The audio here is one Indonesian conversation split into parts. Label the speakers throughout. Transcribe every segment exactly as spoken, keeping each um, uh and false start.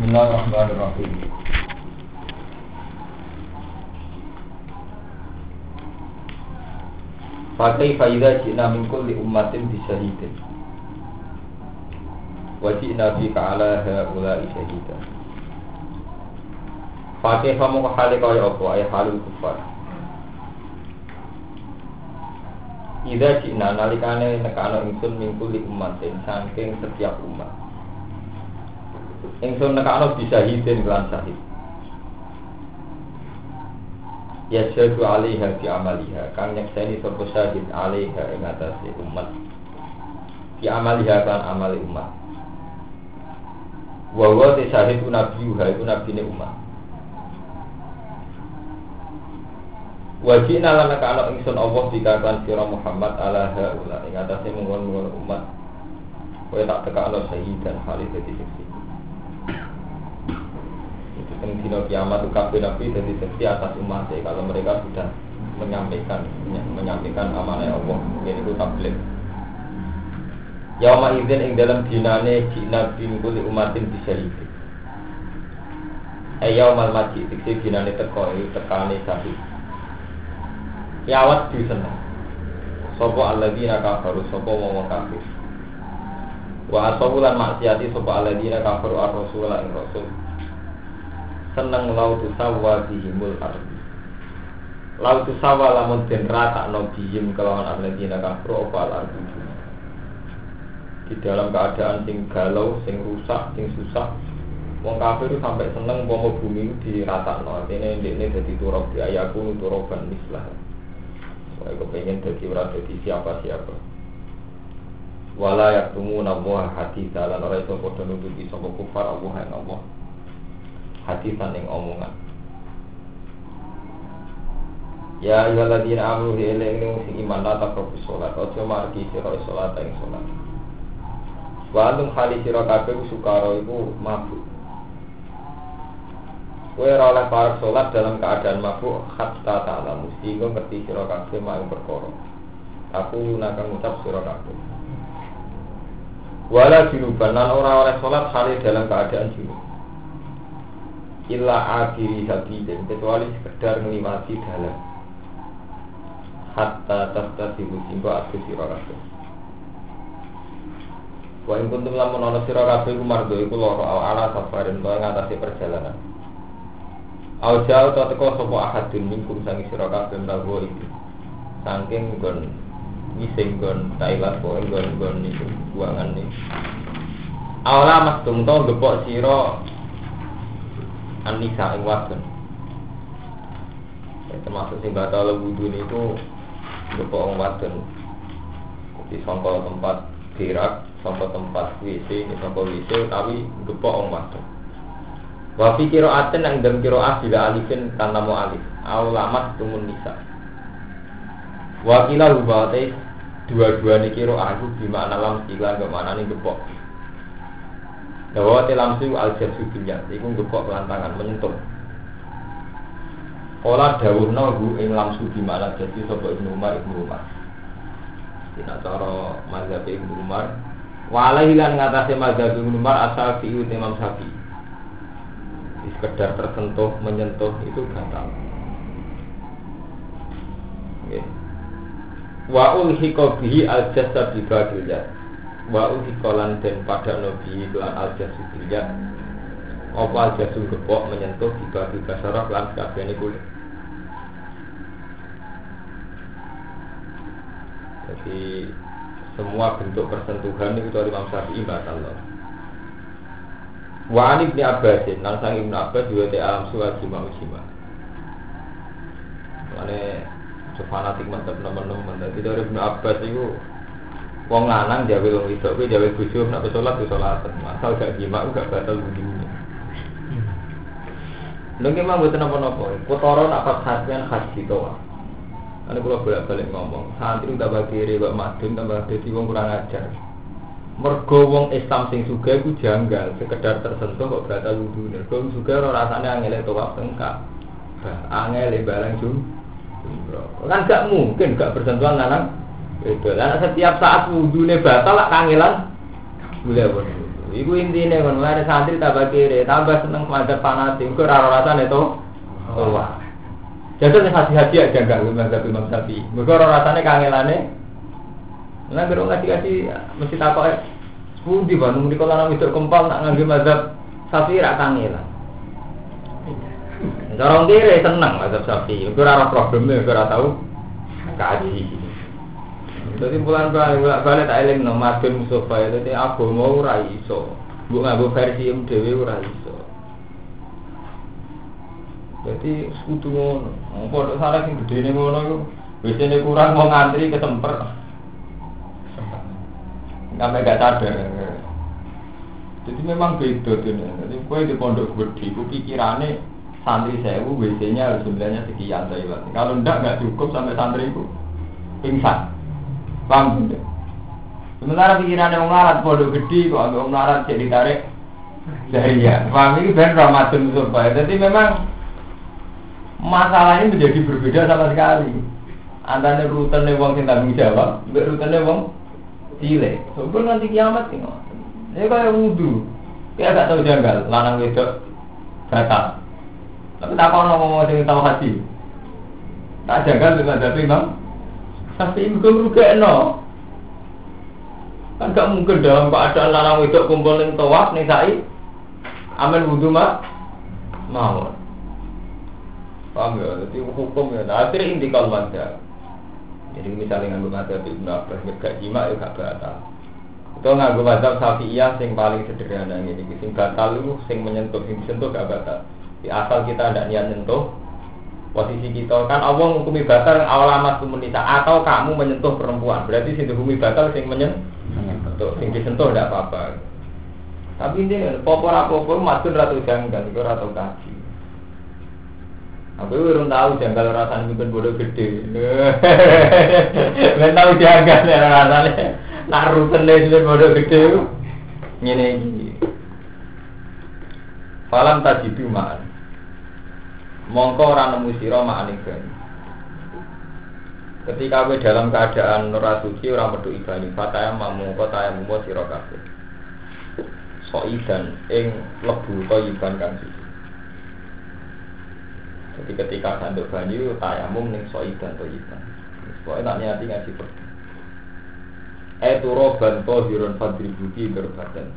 Speaker 1: Bismillahirrahmanirrahim. Fakai faidah jina min kulli ummatin bisyahidin wa jina bika ala haula'i syahidan. Fakai famu khali kaya apa ay halul kufar. Ida jina nalikane nekana ingsun min kulli ummatin saking setiap umat. Ingsun nekana bisyahidin lan syahid. Ya syahdu alaiha fi amaliha kang nyekseni sapa syahid alaiha ing atase umat fi amaliha kan amali umat wa wa te syahid nabiuha iku nabine umat wajina lan kana ingsun Allah dikatakan sira Muhammad ala haula ing atase mungkon-mungkon umat kowe tak tekakno syahidan hale dadi saksi. Yang dino kiamat itu kabeh nabi jadi saksi atas umat kalau mereka sudah menyampaikan menyampaikan amanah Allah mungkin itu tabligh. Yauma idzin ing dalam dinane jina bin kulli umatin bisyahid. Ayaumal majid iki dinane teko iki tekane sahih. Kiamat di sana. Sapa alladzina kafaru sapa wong kafir. Wa asabulan maksiati sapa alladzina kafaru ar-rasul ing rasul. Seneng lautu sawa bihimul ardi. Lautu sawa lamun den ratakno bihim kelawan alladzina kafru opal ardi. Di dalam keadaan sing galau, sing rusak, sing susah, wong kafir sampai seneng pomo bumi diratakno. Artine ndekne dadi turab di ayaku turaban mislah. Soale kepengin dadi ora dadi siapa-siapa. Wala yaktumuna wa haditsa lan ora iso padha nututi sapa kufar Allah ing Allah. Hadisan yang omongan. Ya ayyuhalladzina amanu ilaihi sing iman la taqrabu sholat aja margi sira salat ing salat. Wa antum khali sira kabeh sukara iku mabuk. Kowe ora oleh parek salat dalam keadaan mabuk hatta ta'lamu sehingga ngerti sira kabeh mak perkara. Aku nakang ngucap sira kabeh. Wala junuban lan ora oleh salat khali dalam keadaan junub. Illa akhiri sabidin kecuali sekedar ngliwati dalan hatta tastasibu singgo atu sira kabeh. Wa ing kuntum lamun ana sira kabeh iku mardo iku lara ala safarin to ngatasi perjalanan. Au jauh to teko sapa ahadun minkum sangi sira kabeh mlaku iki. Saking nggon ngising nggon Thailand kok nggon-nggon niku buangan iki. Awala mastung to gepok sira An-Nisa ing wadon. Termasuk sing batal wudu niku gepok wong wadon. Di sangka tempat gerak, sangka tempat W C, sangka W C utawi gepok wong wadon. Wa fi qira'atin nang dalem qira'ah bila alifin tanpa mu alif. Aulamat tumun nisa. Wa qila hubate dua-duane qira'ah iku bimakna lam sila kemanane gepok. Dawa telamsu al-jasu bilyat iku ngepok pelantangan menyentuh. Ola dawuhna hu ing lamsu di mana jadi sapa Ibnu Umar Ibnu Umar. Dina cara mazhab Ibnu Umar walai lan ngatasé mazhab Ibnu Umar asal fi Imam Syafi'i. Sekedar tersentuh menyentuh itu batal. Nggih. Wa ulhiqa bihi al-jasad bi badillah. Wa uhikolan dan pada nabi lan al-jasu bilyat apa al-jasu gepok menyentuh di babi basarah lan kabehane kulit. Jadi semua bentuk persentuhan itu dari Imam Syafi'i batal. Wa an Ibnu Abbas lan sang Ibnu Abbas juga te alam suwat jima ujima. Mane fanatik mantap teman-teman. Dadi dari Ibnu Abbas itu wong lanang jawe wong wedok kuwi jawe bojo nek salat wis salat masal gak jima gak batal wudunya. Lha ki mah mboten napa-napa. Potoro nak pas khasnya khas gitu. Ane kula bolak-balik ngomong, santri tambah kiri kok madun tambah dadi wong kurang ajar. Mergo wong Islam sing sugih ku janggal, sekedar tersentuh kok batal wudune. Wong sugih ora rasane angel tawaf tengkak. Angel barang jum. Kan gak mungkin gak bersentuhan lanang. Itu lah setiap saat wudune batal lak kangelan boleh boleh. Iku intine kon lare santri tambah kere, tambah seneng mazhab fanatik, kok ora rasane to. Wah. Jadi nek hati-hati aja enggak mazhab Imam Syafi'i. Mergo ora rasane kangelane. Lah karo ngaji-ngaji mesti takoke pundi Bandung mriko lanang wedok kempal nak ngangge mazhab Syafi'i ra kangelan. Dorong kere seneng mazhab Syafi'i. Mergo ora probleme, ora tau kaji. Jadi bulan balik balik tak eling no madun Mustafa itu agama ora iso. Mbok nganggo versi M dhewe ora iso. Jadi sekutu ngono. Pondok salah sing gedene ngono iku biasane kurang mau ngantri ketemper. Sampai gak sadar. Jadi memang beda tuh. Jadi kowe di pondok gede ku pikirane santri sewu W C-nya harus jumlahnya sekian saya. Kalau ndak enggak cukup sampai santri itu pingsan. Paham tidak? Sementara pikirannya orang larat pondok gede kok agak orang larat jadi tarik dari ya. Paham ini ben Ramadan supaya. Jadi memang masalah ini menjadi berbeda sama sekali. Antara rutenya wong sing tanggung jawab, mbek rutenya wong cilik. Sebelum nanti kiamat ini. Ini kayak wudu. Kayak gak tahu janggal, lanang wedok batal. Tapi tak kau ngomong sing tahu haji. Tak janggal dengan dadi Imam Syafi'i mung rugekno. Kan gak mungkin dalam keadaan lanang wedok kumpul ning tawaf ning sa'i amal wudu mak mau. Paham ya? Jadi hukum ya. Nah, akhirnya intikal madzhab. Jadi misalnya nganggo madzhab Ibnu Abbas gak jima ya gak batal. Itu nganggo madzhab Syafi'iyah sing paling sederhana ngene iki. Sing batal itu sing menyentuh, sing disentuh gak batal. Di asal kita ndak niat nyentuh posisi kita kan Allah menghukumi batal awalamat komunitas atau kamu menyentuh perempuan. Berarti sing dihukumi batal sing menyentuh, sing disentuh ndak apa-apa. Tapi ini popor-popor madun ratu janggal, itu ratu kaji. Aku belum tahu janggal rasanya mungkin bodoh gede. Belum tahu janggal rasanya. Nak rutene itu bodoh gede. Ngene iki. Falam tajidu ma'an. Mongko ora nemu sira ma'ane ben. Ketika kowe dalam keadaan ora suci ora metu ibani, fataya mamungko taya mumpo sira kabeh. Soidan ing lebu iban kang suci. Jadi ketika sanduk banyu tayamum ning soidan to iban. Pokoke tak niati ngaji pergi. Eh turoban tohirun fadribuki berbadan.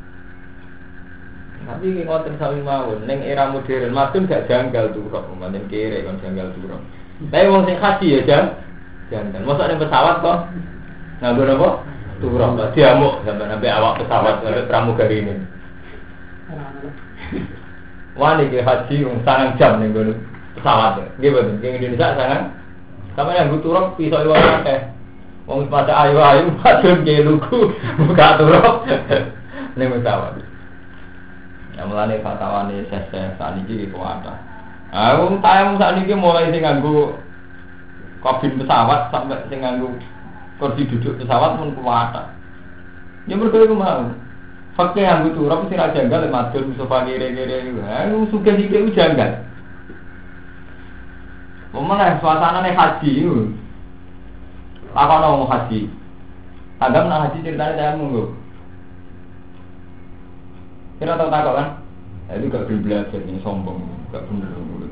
Speaker 1: Tapi ini ngoten sami mawon ning era modern madun gak janggal turok, pancen kere kon janggal turok. Tapi wong sing haji ya jan janggal. Mosok ning pesawat kok nganggo napa? Turok. Diamuk sampe sampe awak pesawat karo pramugari ini. Wani ke haji wong sangang jam ning ngono pesawat. Nggih mboten, ning Indonesia sangang. Sampe nganggo turok iso iwak akeh. Wong pada ayu-ayu madun ke lugu buka turok ning pesawat. Ya mulane fatawane seseh sakniki iki kuwata. Ah wong tayang sakniki mulai sing nganggo kabin pesawat sampai sing nganggo kursi duduk pesawat mun kuwata. Ya mergo iku mau. Fakih nganggo turap sing ra janggal madun sofa kere-kere iku. Ha sugih iki ku janggal. Momone suasanane haji iku. Apa ono haji? Agam nang haji ceritane saya monggo. Kira tahu takut kan? Nah, itu gak belajar ini sombong, gak bener.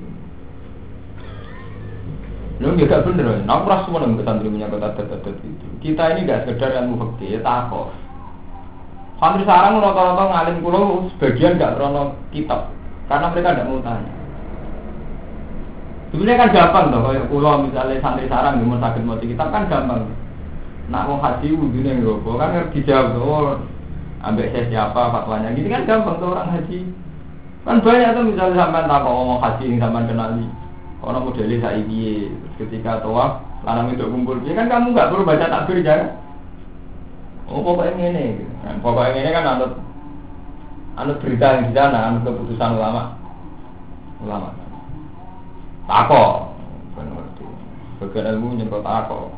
Speaker 1: Lu gak bener, aku rasa semua nang kesantri punya kata adat-adat itu. Kita ini gak sekedar ilmu fikih, takut. Santri sarang rata-rata ngalim kulo sebagian gak krono kitab, karena mereka gak mau tanya. Sebenarnya kan gampang toh, kalau kulo misalnya santri sarang yang mau sakit mau kitab kan gampang. Nak mau haji wudhunya nggak, kan harus dijawab tuh. Ambek saya siapa fatwanya, gini kan gampang tuh orang haji. Kan banyak tuh misalnya sampai tak mau ngomong haji yang sampai kenali. Orang modelnya saya ini ketika tawaf, lanang itu kumpul, ya kan kamu nggak perlu baca takbir jangan. Oh pokoknya ini, nah, pokoknya ini kan anut anut berita yang di sana, anut keputusan ulama, ulama. Tako, benar itu. Bagian ilmu nyerot tako.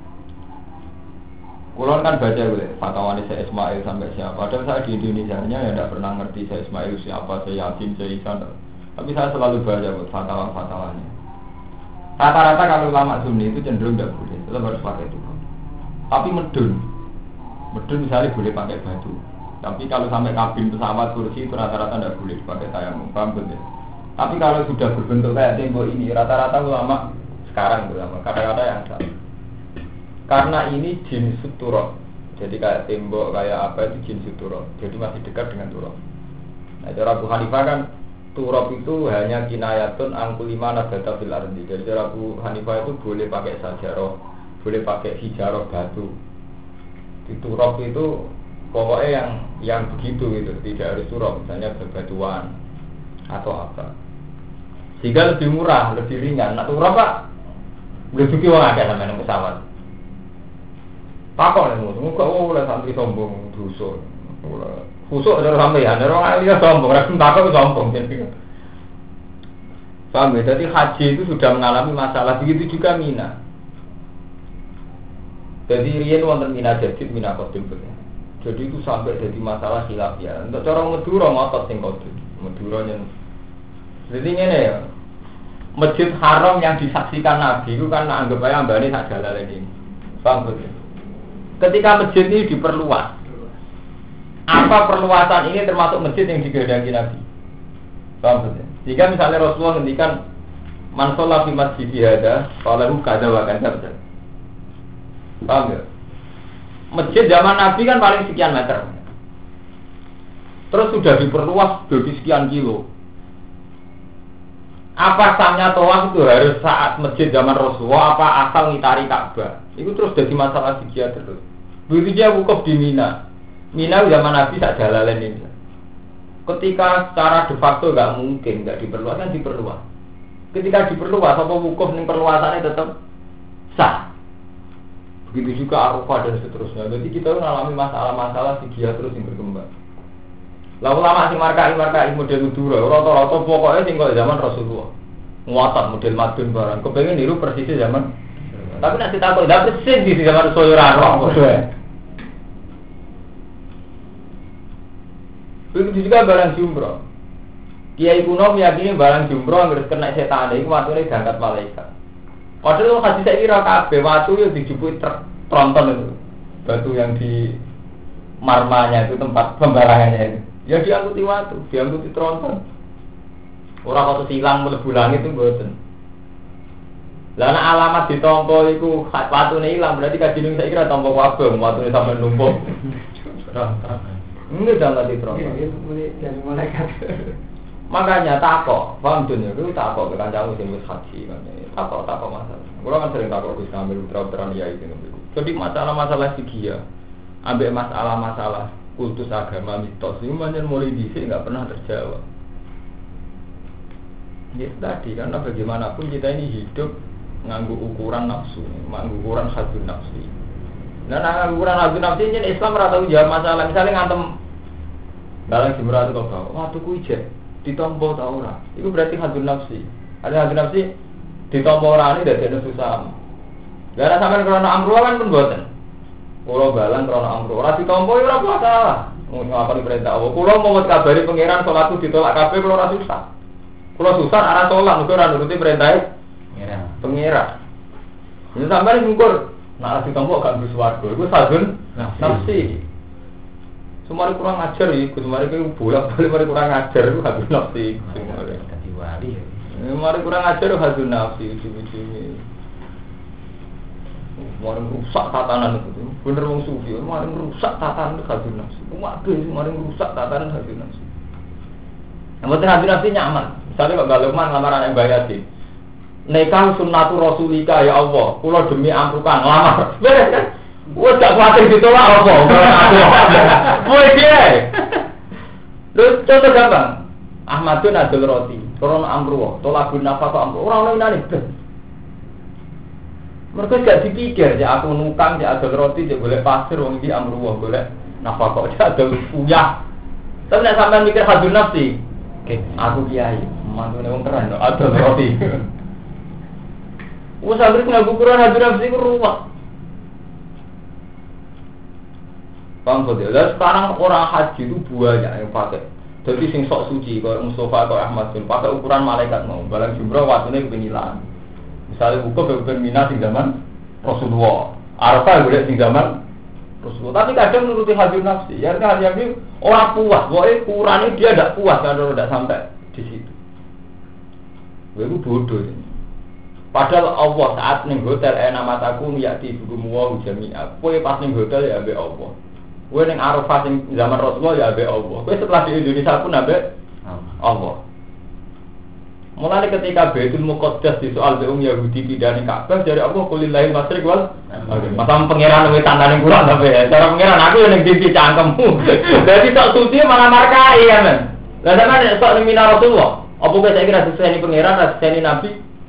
Speaker 1: Kulon kan baca boleh fatwa Syekh Ismail sampai siapa. Padahal saya di Indonesia nya ya tidak pernah ngerti Syekh Ismail siapa, saya Yasin, saya Isan. Tapi saya selalu baca buat fatwa-fatwanya. Rata-rata kalau ulama Sunni itu cenderung tidak boleh, tetap harus pakai itu. Tapi medun, medun misalnya boleh pakai batu. Tapi kalau sampai kabin pesawat kursi itu rata-rata tidak boleh pakai tayamum, paham betul? Tapi kalau sudah berbentuk kayak tembok ini, rata-rata ulama sekarang ulama kata-kata yang salah. Karena ini jenis turab, jadi kayak tembok kayak apa itu jenis turab, jadi masih dekat dengan turab. Nah, cara Abu Hanifah kan turab itu hanya kinayatun angkulima nadata fil ardi. Jadi cara Abu Hanifah itu boleh pakai sajarah, boleh pakai hijarah batu. Di turab itu pokoknya yang yang begitu gitu, tidak harus turab, misalnya bebatuan atau apa. Sehingga lebih murah, lebih ringan. Nah turab Pak, boleh juga orang ada namanya pesawat. Takon nih, muka oleh santri sombong, dosa. Khusuk ada sampeyan, ada orang ahli sombong, orang takon sombong. Paham ya? Jadi haji itu sudah mengalami masalah, begitu juga Mina. Jadi riyen wonten Mina Jadid, Mina Qadim. Jadi itu sampai jadi masalah khilafiyah. Untuk cara Madura ngotot sing Qadim. Madura nyen. Jadi ngene ya. Masjid Haram yang disaksikan Nabi itu kan anggap aja ambane sak jalale ini. Paham betul? Ketika masjid ini diperluas. Apa perluasan ini termasuk masjid yang digedangi Nabi? Paham betul? Jika misalnya Rasulullah ngendikan man shalla fi masjid hada falahu kadza wa kadza. Paham ya? Masjid zaman Nabi kan paling sekian meter. Terus sudah diperluas jadi sekian kilo. Apa sahnya tawaf itu harus saat masjid zaman Rasulullah apa asal ngitari Ka'bah? Itu terus jadi masalah fikih terus. Begitu dia wukuf di Mina. Mina zaman Nabi sak jalalain ini. Ketika secara de facto enggak mungkin, enggak diperluas kan diperluas. Ketika diperluas apa wukuf ning perluasannya tetap sah. Begitu juga Arafah dan seterusnya. Jadi kita mengalami masalah-masalah fikih terus yang berkembang. Lalu lama sing markai-markai model Madura, rata-rata pokoknya sing kok zaman Rasulullah. Nguatat model Madun barang. Kepengen niru persis zaman. Tapi nek ditakon ndak persis di zaman Rasulullah ora kok. Begitu juga barang jumroh. Kiai kuno meyakini barang jumroh harus kena setan iku watune diangkat malaikat. Padahal hadis saya kira kabeh watu yang dijupuk tronton itu. Batu yang di marmanya itu tempat pembarangannya itu. Ya diangkuti watu, diangkuti tronton. Orang waktu silang mlebu langit itu mboten. Lah nek alamat ditampa iku watune ilang berarti kadine saya kira tampa kabeh watune sampe numpuk. Enggak jangan di tronton. Itu dari malaikat. Makanya takok, paham dunia itu takok ke kancamu sing wis haji kan. Takok takok masalah. Kulo kan sering takok wis ngambil putra-putra ya itu. Jadi masalah-masalah fikih ambek masalah-masalah kultus agama mitos itu manjen mulai dhisik enggak pernah terjawab. Ya tadi karena bagaimanapun kita ini hidup nganggo ukuran nafsu, nganggo ukuran hadun nafsi. Nah, nganggo ukuran hadun nafsi ini Islam ora tau jawab masalah. Misalnya ngantem dalam jumlah itu kok, wah tuku ijek ditompo ta ora? Itu berarti hadun nafsi. Ada hadun nafsi ditompo ora ini dadi susah. Gara sampean krono amruh kan pun boten. Kulo balang krono amruh ora ditompo ora apa-apa. Ngapa diperintah Allah? Kulo mau kabari pangeran salatku ditolak kabeh kulo ora susah. Kulo susah arah salat mergo ora nuruti perintah pangeran. Pangeran. Ini sampean ngukur nek ditompo gak mlebu swarga. Iku hadun nafsi. Semari kurang ajar iki, semari ku bolak-balik mari kurang ajar iku hadun nafsi. Dadi wali. Mari kurang ajar hadun nafsi ujung-ujunge. Mari rusak tatanan itu. Bener wong sufi, mari rusak tatanan hadun nafsi. Waduh, mari rusak tatanan hadun nafsi. Namun hadun nafsi nyaman. Misalnya kok Galukman lamaran yang bayati. Nikah sunnatu rasulika ya Allah. Kula demi amrukan lamar. Beres kan? Wes gak kuatir ditolak apa? Kowe piye? Lho contoh gampang. Ahmadun adul roti, Koron amruwa, tolakun nafaqah amruwa. Ora ono inane ben. Mergo gak dipikir ya aku nukang ya adul roti ya golek pasir wong iki amruwa golek nafaqah ya adul uyah. Tapi nek sampean mikir hadun nafsi, oke, aku kiai, mantune wong keren adul roti. Wes anggere nganggo ukuran hadun nafsi ku ruwet. Paham betul. Dan sekarang orang haji itu banyak yang pakai. Jadi sing sok suci, kalau Mustafa atau Ahmad bin pakai ukuran malaikat mau. Balang jumroh waktunya kepengilan. Misalnya buka beberapa mina sing zaman Rasulullah. Arafah boleh sing zaman Rasulullah. Tapi kadang menuruti hadir nafsi. Ya kan hadir nafsi orang puas, pokoknya kurangnya dia tidak puas kalau tidak sampai di situ. Itu bodoh ini. Padahal Allah saat ning hotel enak mataku yakti buku wa jami'a. Kowe pas ning hotel ya ambek Allah. Kowe ning Arafah sing zaman Rasulullah ya ambek Allah. Kowe setelah di Indonesia pun ambek Allah. Mulai ketika Baitul Muqaddas di soal beung Yahudi pidane Ka'bah dari Allah kulillahil masyriq wal maghrib. Masa pangeran wis tandane kurang tapi ya. Cara pangeran aku ning titik cangkemmu. Dadi tok suci malah markai ya men. Lah sampeyan tok ning Mina Rasulullah. Apa kowe saiki ra diseni pangeran, ra diseni nabi?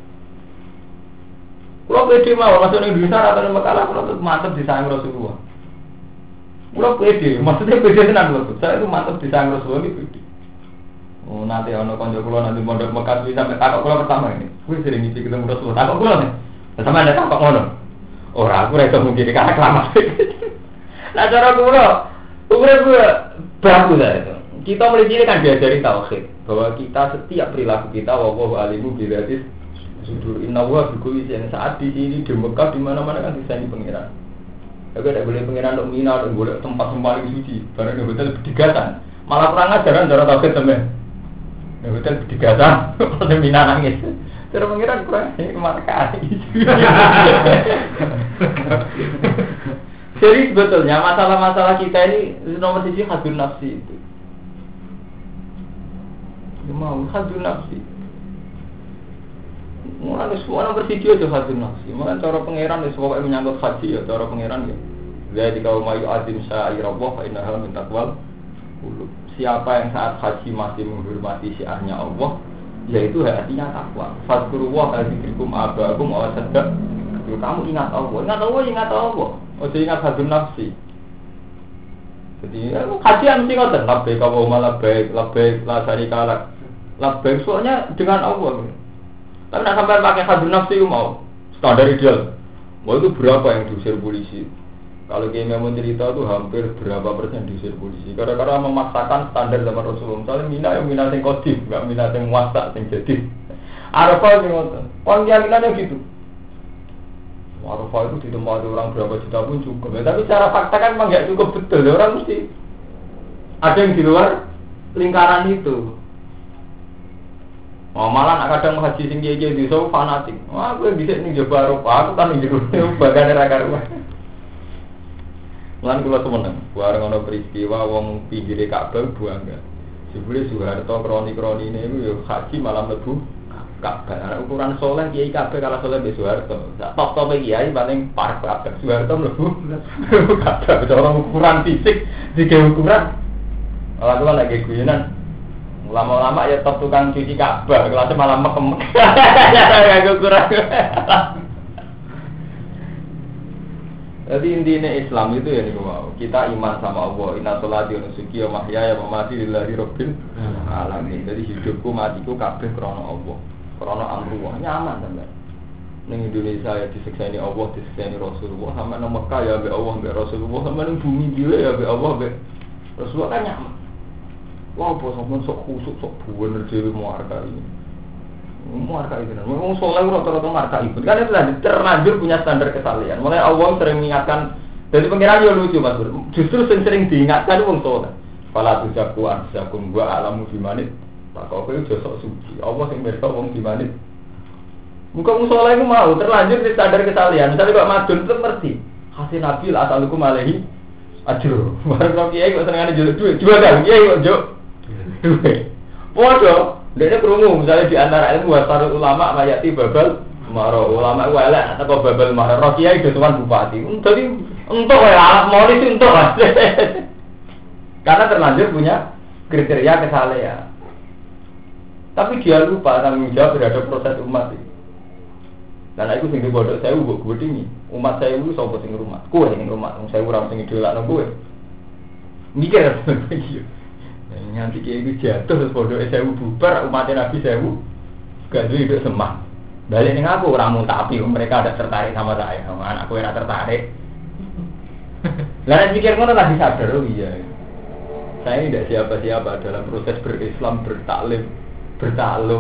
Speaker 1: Kulo pede mawon masuk ning Indonesia atau ning Mekah kulo mantep disayang Rasulullah. Kulo pede, maksudnya pede tenan lho. Saya itu mantep disayang Rasulullah iki pede. Oh nanti ono kanca kula nanti mondok Mekah bisa sampai takok kula pertama ini. Kuwi sering ngisi ketemu Rasulullah. Takok kula nih. Sama ada takok ngono. Ora aku ra iso mungkin karena kelamaan. Nah cara kula, urip bagus lah itu. Kita mulai cilik kan diajari tauhid bahwa kita setiap perilaku kita wallahu alimu billatis sudur inna wa bi kulli shay'in saat di sini di Mekah di mana-mana kan disani pangeran. Aku tidak boleh pangeran untuk mina dan boleh tempat paling suci. Barang di hotel berdigatan. Malah perang ajaran cara tauhid temen. Di hotel berdigatan, pada mina nangis. Cara pangeran kurang ini markai. Jadi sebetulnya masalah-masalah kita ini nomor siji hadir nafsi itu. Mau hadir nafsi. Mulai semua nomor video itu hadir nafsi. Mulai cara pangeran itu pokoknya menyangkut haji ya cara pangeran ya. Jadi kalau mau azim sa'irallah fa innaha min taqwal qulub. Siapa yang saat haji masih menghormati syiarnya Allah, yaitu hatinya takwa. Fadkurullah kadzikrikum abakum wa sadaq. Kamu ingat Allah, ingat Allah, ingat Allah. Oh, ingat hadir nafsi. Jadi haji mesti ngoten, labbaik wa labbaik, labbaik la syarika lak. Labbaik soalnya dengan Allah. Tapi nak sampai pakai hadir nafsi mau standar ideal. Mau itu berapa yang diusir polisi? Kalau kayak memang cerita itu hampir berapa persen diusir polisi. Karena-karena memaksakan standar zaman Rasulullah. Misalnya mina yang mina yang kodim, nggak mina yang muasa yang jadi. Arafah yang ngotot. Orang keyakinannya gitu. Arafah itu ditempati orang berapa juta pun cukup. Ya, tapi secara fakta kan memang nggak cukup betul. Orang mesti ada yang di luar lingkaran itu. Oh, malah nak kadang haji sing kiye di so fanatik. Wah, aku bisa ning Jawa Arafah, aku kan ning jero bagane ra karuan. Lan kula temenan, bareng ana peristiwa wong pinggire Ka'bah buangga. Jebule Soeharto kroni-kronine iku ya haji malam mlebu Ka'bah. Ukuran saleh kiai Ka'bah kalah saleh mbek Soeharto. Sak top-tope kiai paling parek Ka'bah. Soeharto mlebu Ka'bah cara ukuran fisik dike ukuran. Ala kula lagi guyonan. Lama-lama ya top tukang cuci Ka'bah, kelasnya malah mekem. Ya ukuran. Jadi intinya Islam itu ya nih wow. Kita iman sama Allah. Inna sholati wa nusuki wa mahyaya wa mamati lillahi rabbil alamin. Jadi hidupku matiku kabeh krana Allah. Krana amruh nyaman sampean. Ning Indonesia ya disekseni Allah, disekseni Rasulullah. Sampe nang Mekah ya ambek Allah, ambek Rasulullah. Sampe ning bumi dhewe ya ambek Allah, ambek Rasulullah kan nyaman. Wah, wow, sampean sok khusuk, sok bener dhewe muarka ini. Muarka itu, memang soleh rata-rata marka itu. Kan itu tadi terlanjur punya standar kesalehan. Mulai Allah sering mengingatkan. Jadi pengiran juga lucu mas. Justru sering diingatkan itu orang soleh. Fala tujaku ansakum gua alamu bimanit. Tak kau itu josok suci. Allah yang mereka orang bimanit. Muka soleh itu mau terlanjur di standar kesalehan. Misalnya kok madun itu ngerti. Hasil nabil asalukum alaihi ajro. Baru kiai kok senengane jual duit. Jual dah kiai kok jual duit. Bodoh. Dia kerungu, misalnya di antara ilmu wasarul ulama mayati babal maro ulama itu elek atau babal maro rokiai itu tuan bupati. Jadi untuk ya moris untuk karena terlanjur punya kriteria kesalehan. Tapi dia lupa tanggung jawab terhadap proses umat itu. Dan aku sing bodoh saya ubuk gue tinggi. Umat saya itu sopo sing rumah. Kue sing rumah, saya urang sing idolak nang kowe. Mikir begitu. Nanti kayak itu jatuh terus bodoh sewu bubar umatnya Nabi sewu gak duit hidup semah balik dengan aku orang mau tapi mereka ada tertarik sama saya sama anakku yang tertarik lalu pikir ngono lagi sadar oh iya saya ini tidak siapa-siapa dalam proses berislam bertaklim bertaklum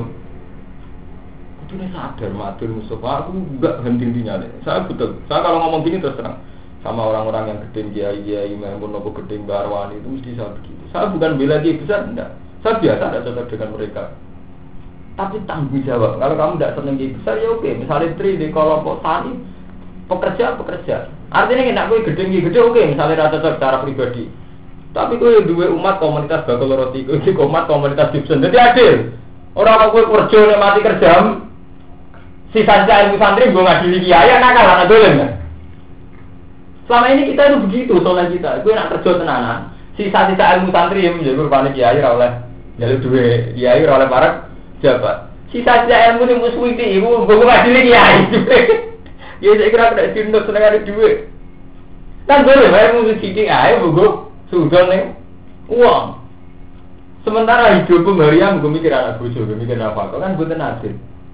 Speaker 1: itu nih sadar matur Mustafa aku enggak henti-hentinya deh saya betul saya kalau ngomong gini terus terang sama orang-orang yang gedeng kiai-kiai maupun nopo gedeng barwani itu mesti saya begitu. Saya bukan bela kiai besar, enggak. Saya biasa tidak cocok dengan mereka. Tapi tanggung jawab. Kalau kamu tidak senang kiai besar ya oke. Misalnya tri di kelompok tani, pekerja pekerja. Artinya enak gue gedeng kiai gede oke. Misalnya rasa cocok secara pribadi. Tapi gue dua umat komunitas bakal roti, gue umat komunitas Gibson. Jadi adil. Orang gue kerja nih mati kerja. Sisa sisa ilmu santri gue ngadili kiai, nakal anak dolen kan. Selama ini kita itu begitu soalnya kita, gue nak kerja tenanan. Sisa-sisa ilmu santri yang menjadi kurban kiai oleh jalur dua kiai oleh para jabat. Sisa-sisa ilmu yang musuh itu, ibu gue ngadili kiai. Ya saya kira tidak cinta seneng ada duit. Kan boleh, saya musuh ciking aja, gue sudah nih uang. Sementara hidupku Maryam, gue mikir anak gue, gue mikir apa? Kan gue tenadir.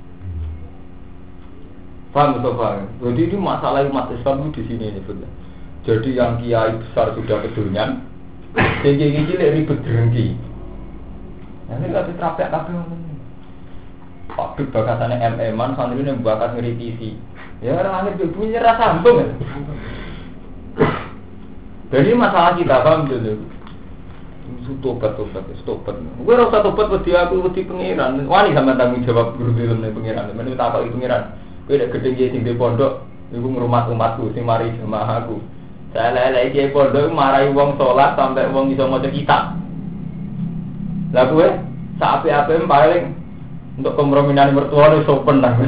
Speaker 1: Paham atau paham? Jadi ini masalah umat Islam itu di sini ini betul. Jadi yang kiai besar sudah kedunian, yang kiai cilik ribet dengki. Ini kasih terapek tapi ngomong. Pak bakasannya M M-an, santri ini bakat ngeritisi. Ya orang akhir punya rasa sambung. Jadi masalah kita paham dulu. Tobat tobat tobat. Gue rasa tobat wedi aku wedi pengiran. Wani sama tanggung jawab guru film nih pengiran. Mana tak apa pengiran. Gue udah gede jadi di pondok. Ibu ngurmat umatku, si mari jemaah aku. Saya lelai kiai pondok marahi wong sholat sampai wong bisa maca kitab. Lah gue sapi-api paling untuk komprominan mertua itu sopan lah.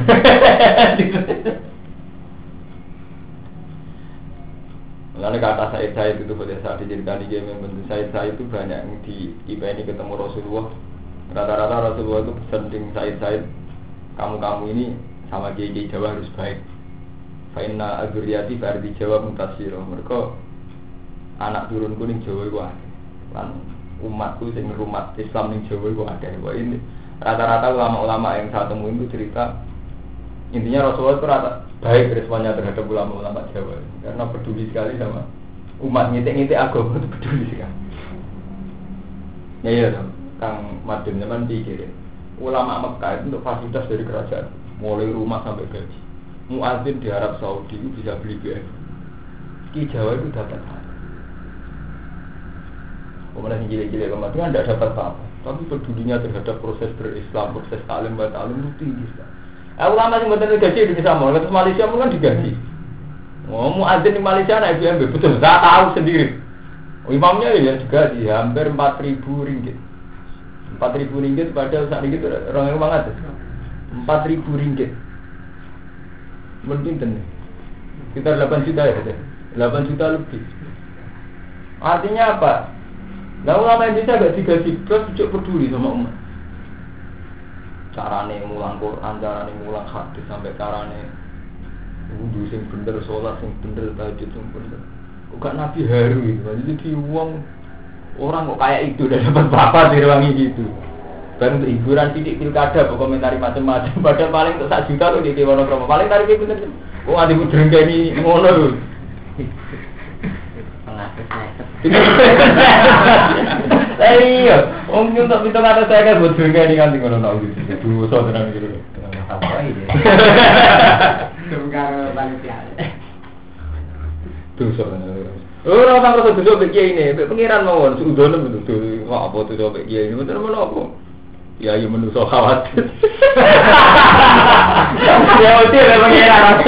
Speaker 1: Lalu kata Said Said itu pada saat dijadikan di game yang Said Said itu banyak yang di I P ini ketemu Rasulullah. Rata-rata Rasulullah itu pesan dengan Said Said, kamu-kamu ini sama kiai Jawa harus baik. Fa'inna azuriyati fa'ardi Jawa mutasiro. Mereka anak turun kuning Jawa itu ada. Kan umatku yang umat Islam yang Jawa itu ada. Wah ini rata-rata ulama-ulama yang saya temuin itu cerita. Intinya Rasulullah itu rata baik responnya terhadap ulama-ulama Jawa. Karena peduli sekali sama umat ngitik-ngitik agama itu peduli sekali. Ya iya dong. Kang Madun zaman pikirin. Ulama Mekah itu untuk fasilitas dari kerajaan. Mulai rumah sampai gaji. Muadzin di Arab Saudi itu bisa beli B M. Ki Jawa itu dapat apa? Kemudian gile-gile kemarin kan tidak dapat apa. Tapi pedulinya terhadap proses berislam, proses talim, batalim itu tinggi sekali. Eh, ulama yang betul gaji di Samor, terus Malaysia pun kan digaji. Oh, muadzin di Malaysia naik B M W betul. Saya tahu sendiri. Imamnya ya digaji hampir empat ribu ringgit. Empat ribu ringgit padahal saat itu orang yang banget. Empat ribu ringgit. Mungkin tenang. Kita delapan juta ya, delapan juta lebih. Artinya apa? Nah ulama Indonesia agak digaji terus cukup peduli sama umat. Carane mulang Quran, carane mulang hadis sampai carane wudu sing bener, sholat sing bener, tahajud sing bener. Kok gak Nabi haru itu. Jadi uang orang kok kayak itu udah dapat berapa direwangi gitu. Baru untuk hiburan sidik pilkada, komentari macam-macam. Padahal paling untuk sak juta loh di Dewan Promo. Paling tarifnya bener. Oh ada ibu jerengga ini ngono loh. Iya, om nyuntuk pintu kata saya kan buat jerengga ini kan tinggal nol gitu. Dua so tenang gitu. Apa ini? Jerengga panitia. Tuh so tenang. Oh, orang orang rasa duduk begini ini, pengiran mawon, sudah nih betul. Wah apa tuh duduk begini? Betul mana apa? Ya, ya menuso khawatir. Ya, udah lah pengiran aku.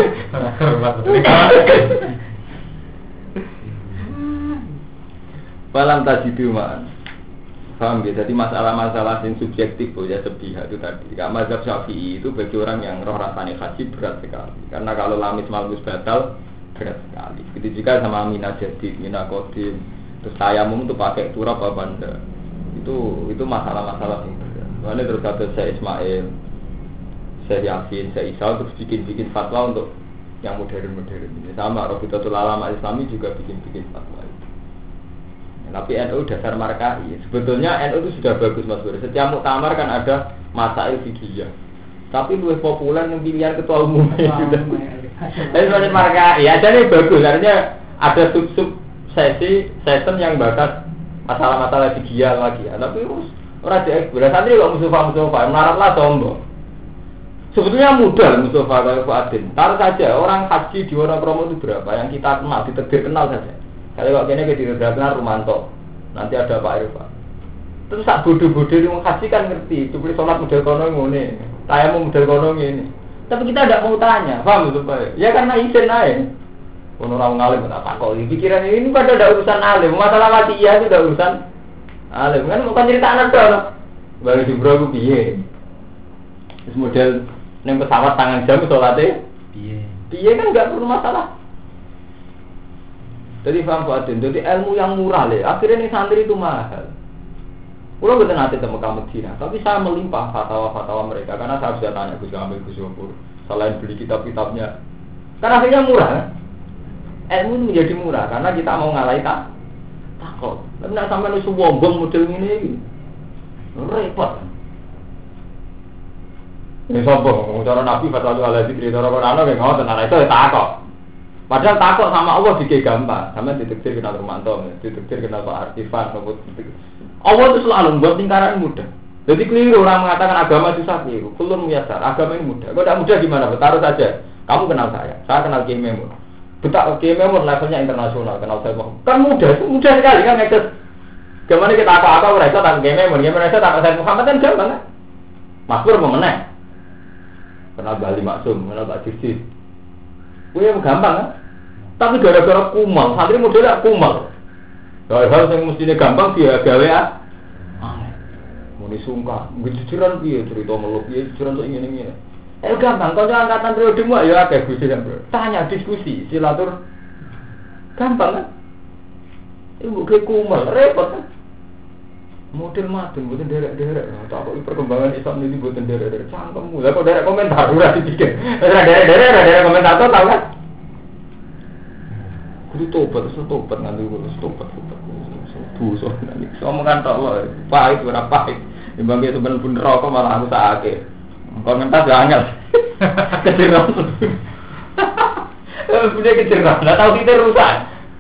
Speaker 1: Balam tajidu man. Paham ya? Jadi masalah-masalah yang subjektif ya sepihak itu tadi. Kalau mazhab Syafi'i itu bagi orang yang roh rasanya haji berat sekali. Karena kalau lamis malus batal berat sekali. Begitu juga sama mina jadi, mina kodim. Terus tayamum itu pakai turab apa benda. Itu itu masalah-masalah yang berat. Soalnya terus ada saya Ismail, saya Yasin, saya Isa terus bikin-bikin fatwa untuk yang modern-modern. Sama Robiqatul Ulama Islami juga bikin-bikin fatwa. Tapi N U dasar markai. Sebetulnya N U itu sudah bagus Mas Bur. Setiap muktamar kan ada masail fikih. Tapi lebih populer yang pilihan ketua umum sudah. Tapi sebenarnya markai. Ya jadi bagus. Artinya ada sub-sub sesi sistem yang bahas masalah-masalah fikih lagi. Tapi orang dia santri kok musuh-musuh melaratlah sombong. Sebetulnya mudah Mustafa kalau Fuadin. Taruh saja orang haji di Wonokromo itu berapa yang kita kenal, ditegir kenal saja. Kalau kok kene ke kenal Rumanto, nanti ada Pak Irfan. Terus sak bodoh-bodoh di haji kan ngerti, cuma sholat model kono ngene, tayamu model kono ngene. Tapi kita tidak mau tanya, paham itu Pak? Ya karena izin aja. Kono orang ngalim tak takok. Pikiran ini pada ada urusan alim, masalah watiyah itu ada urusan alim. Kan bukan cerita anak dong. Baru di bro piye? Terus model neng pesawat tangan jam sholatnya piye? Piye kan enggak perlu masalah. Jadi paham Pak Adin, jadi ilmu yang murah le. Akhirnya nih santri itu mahal. Pulau betul nanti temu kamu Cina, tapi saya melimpah fatwa-fatwa mereka karena saya sudah tanya Gus Kamil, Gus Yopur, selain beli kitab-kitabnya, karena akhirnya murah. Ilmu menjadi murah karena kita mau ngalahin tak takut. Tapi nak sampai nusu wombong model ini, repot. Ini sombong, cara Nabi fatwa itu ala zikri, cara Quran itu nggak tenang itu takut. Padahal takut sama Allah dikit gampang, sama ditektir kenal Romanto, ditektir kenal Pak Artifan, Allah itu selalu membuat lingkaran mudah. Jadi keliru orang mengatakan agama susah keliru. Kulun muyasar, agama ini mudah. Kalau tidak mudah gimana? Taruh saja. Kamu kenal saya, saya kenal Kiai Memun. Betul, Kiai Memun levelnya internasional, kenal saya. Kan mudah, mudah sekali kan ngekes. Gimana kita apa-apa mereka tak Kiai Memun, Kiai Memun tak saya Muhammad kan gampang kan? Maksud pemenang. Kenal Bali Maksum, kenal Pak Dirjis. Gue gampang kan? Tapi gara-gara kumal, santri modelnya kumal. Hal-hal yang mestinya gampang dia gawe ah. Muni sungkan, jujuran piye cerita meluk piye jujuran kok ngene-ngene. Eh gampang, kanca angkatan periodemu ya akeh Gusti kan. Tanya diskusi, silatur. Gampang kan? Ibu ke kumal repot kan. Model madun mboten derek-derek. Tak kok perkembangan Islam ini mboten derek-derek. Cangkemmu. Lah kok derek komentar ora dipikir. Ora derek-derek, ora derek komentator tau kan? Kudu tobat, terus tobat nganti terus tobat, tobat. Dosa nanti. Omongan tok lho, pahit ora pahit. Timbang itu bener-bener rokok malah aku sakake. Komentar yo angel. Keceron. Eh, punya keceron. Lah tau kita rusak.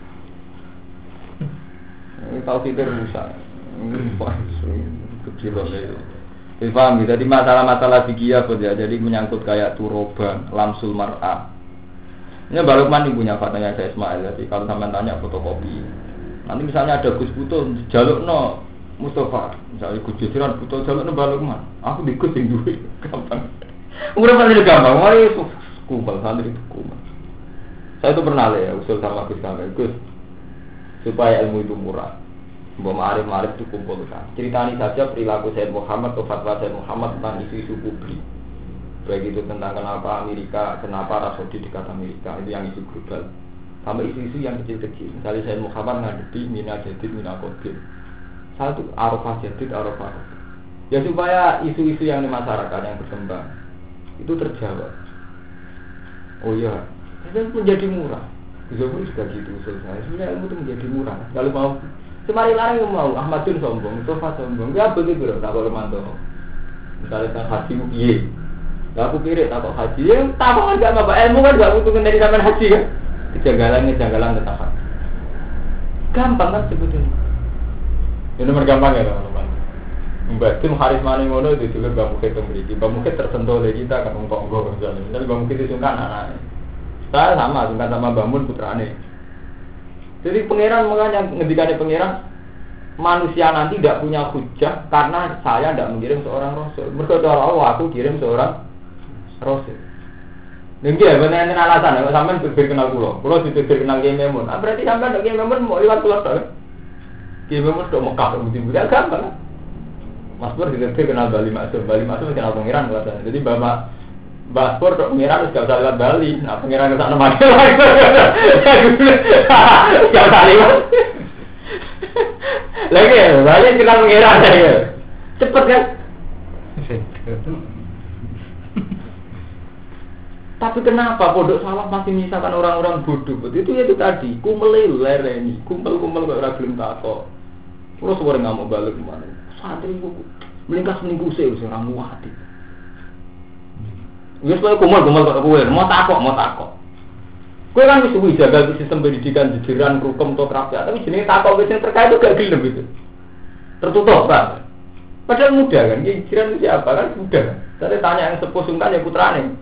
Speaker 1: Tau kita rusak. Wah, kecil loh. Jadi paham, jadi masalah-masalah fikih apa ya? Jadi menyangkut kayak turoban, lamsul mar'ah. Ini Mbak Lukman yang punya fatanya saya Ismail. Jadi kalau sampai tanya fotokopi, nanti misalnya ada Gus Buto jaluk no Mustafa, misalnya Gus Jusiran Buto jaluk no Mbak Lukman, aku di Gus yang duit, gampang. Udah paling gampang, mari kumpul santri itu kumpul. Saya itu pernah ya usul sama Gus Kamil, Gus supaya ilmu itu murah, bahwa ma'arif-ma'arif itu kumpulkan. Ceritani saja perilaku Sayyid Muhammad atau fatwa Sayyid Muhammad tentang isu-isu publik. Baik itu tentang kenapa Amerika, kenapa Rasudi dekat Amerika, itu yang isu global. Sampai isu-isu yang kecil-kecil. Misalnya saya Muhammad ngadepi mina jadid, mina kodir. Satu arafah jadid, arafah. Ya supaya isu-isu yang di masyarakat yang berkembang itu terjawab. Oh iya, itu menjadi murah. Bisa pun juga gitu usul saya. Sebenarnya ilmu itu menjadi murah. Kalau mau, semari larang yang mau Ahmadun sombong, Mustafa sombong. Ya begitu loh, tak boleh mantau. Misalnya kan haji iya. Lah aku kira takut haji, ya takut kan gak apa ilmu kan gak butuh dari zaman haji kan. Kejanggalan-kejanggalan tetap haji. Gampang kan sebetulnya. Ini nomor gampang ya teman-teman. Mbak Tim Haris Mani ngono itu juga Mbak Mukit memiliki. Mbak Mukit tersentuh oleh kita kan ngomong-ngomong misalnya. Misalnya Mbak Mukit itu sungkan anaknya. Saya sama, sungkan sama Mbak Mun putrane. Jadi pangeran makanya ngendikannya pangeran manusia nanti tidak punya hujah karena saya tidak mengirim seorang rasul. Mereka Allah aku kirim seorang Rasul. Nggih ya, bener enten alasan nek sampean berbeda kenal kula. Kula ditetir kenal Kiai Memun. Ah berarti sampean nek Kiai Memun mau liwat kula to. Kiai Memun tok Mekah budi-budi gampang. Mas Pur ditetir kenal Bali Maksum. Bali Maksum kenal pangeran kuwi. Jadi Bapak Mbak Pur tok pangeran wis gak usah liwat Bali. Nah pangeran kesana mati. Gak usah liwat. Lagi Bali kenal pangeran ya. Cepet kan? Tapi kenapa pondok salaf masih menyisakan orang-orang bodoh? Itu itu tadi, kumpul lereni, kumpul-kumpul kok ora gelem takok. Terus suara ngamuk balik kemana? Santri ku melingkas minggu sih orang muati. Wis kowe kumpul-kumpul kok kowe, mau takok, mau takok. Kowe kan wis suwi jaga sistem pendidikan jejeran rukem to kraft, tapi jenenge takok wis terkait itu gak gelem itu. Tertutup, Pak. Padahal muda kan, Jiran itu siapa kan muda kan. Saya tanya yang sepuh sungkan ya putrane.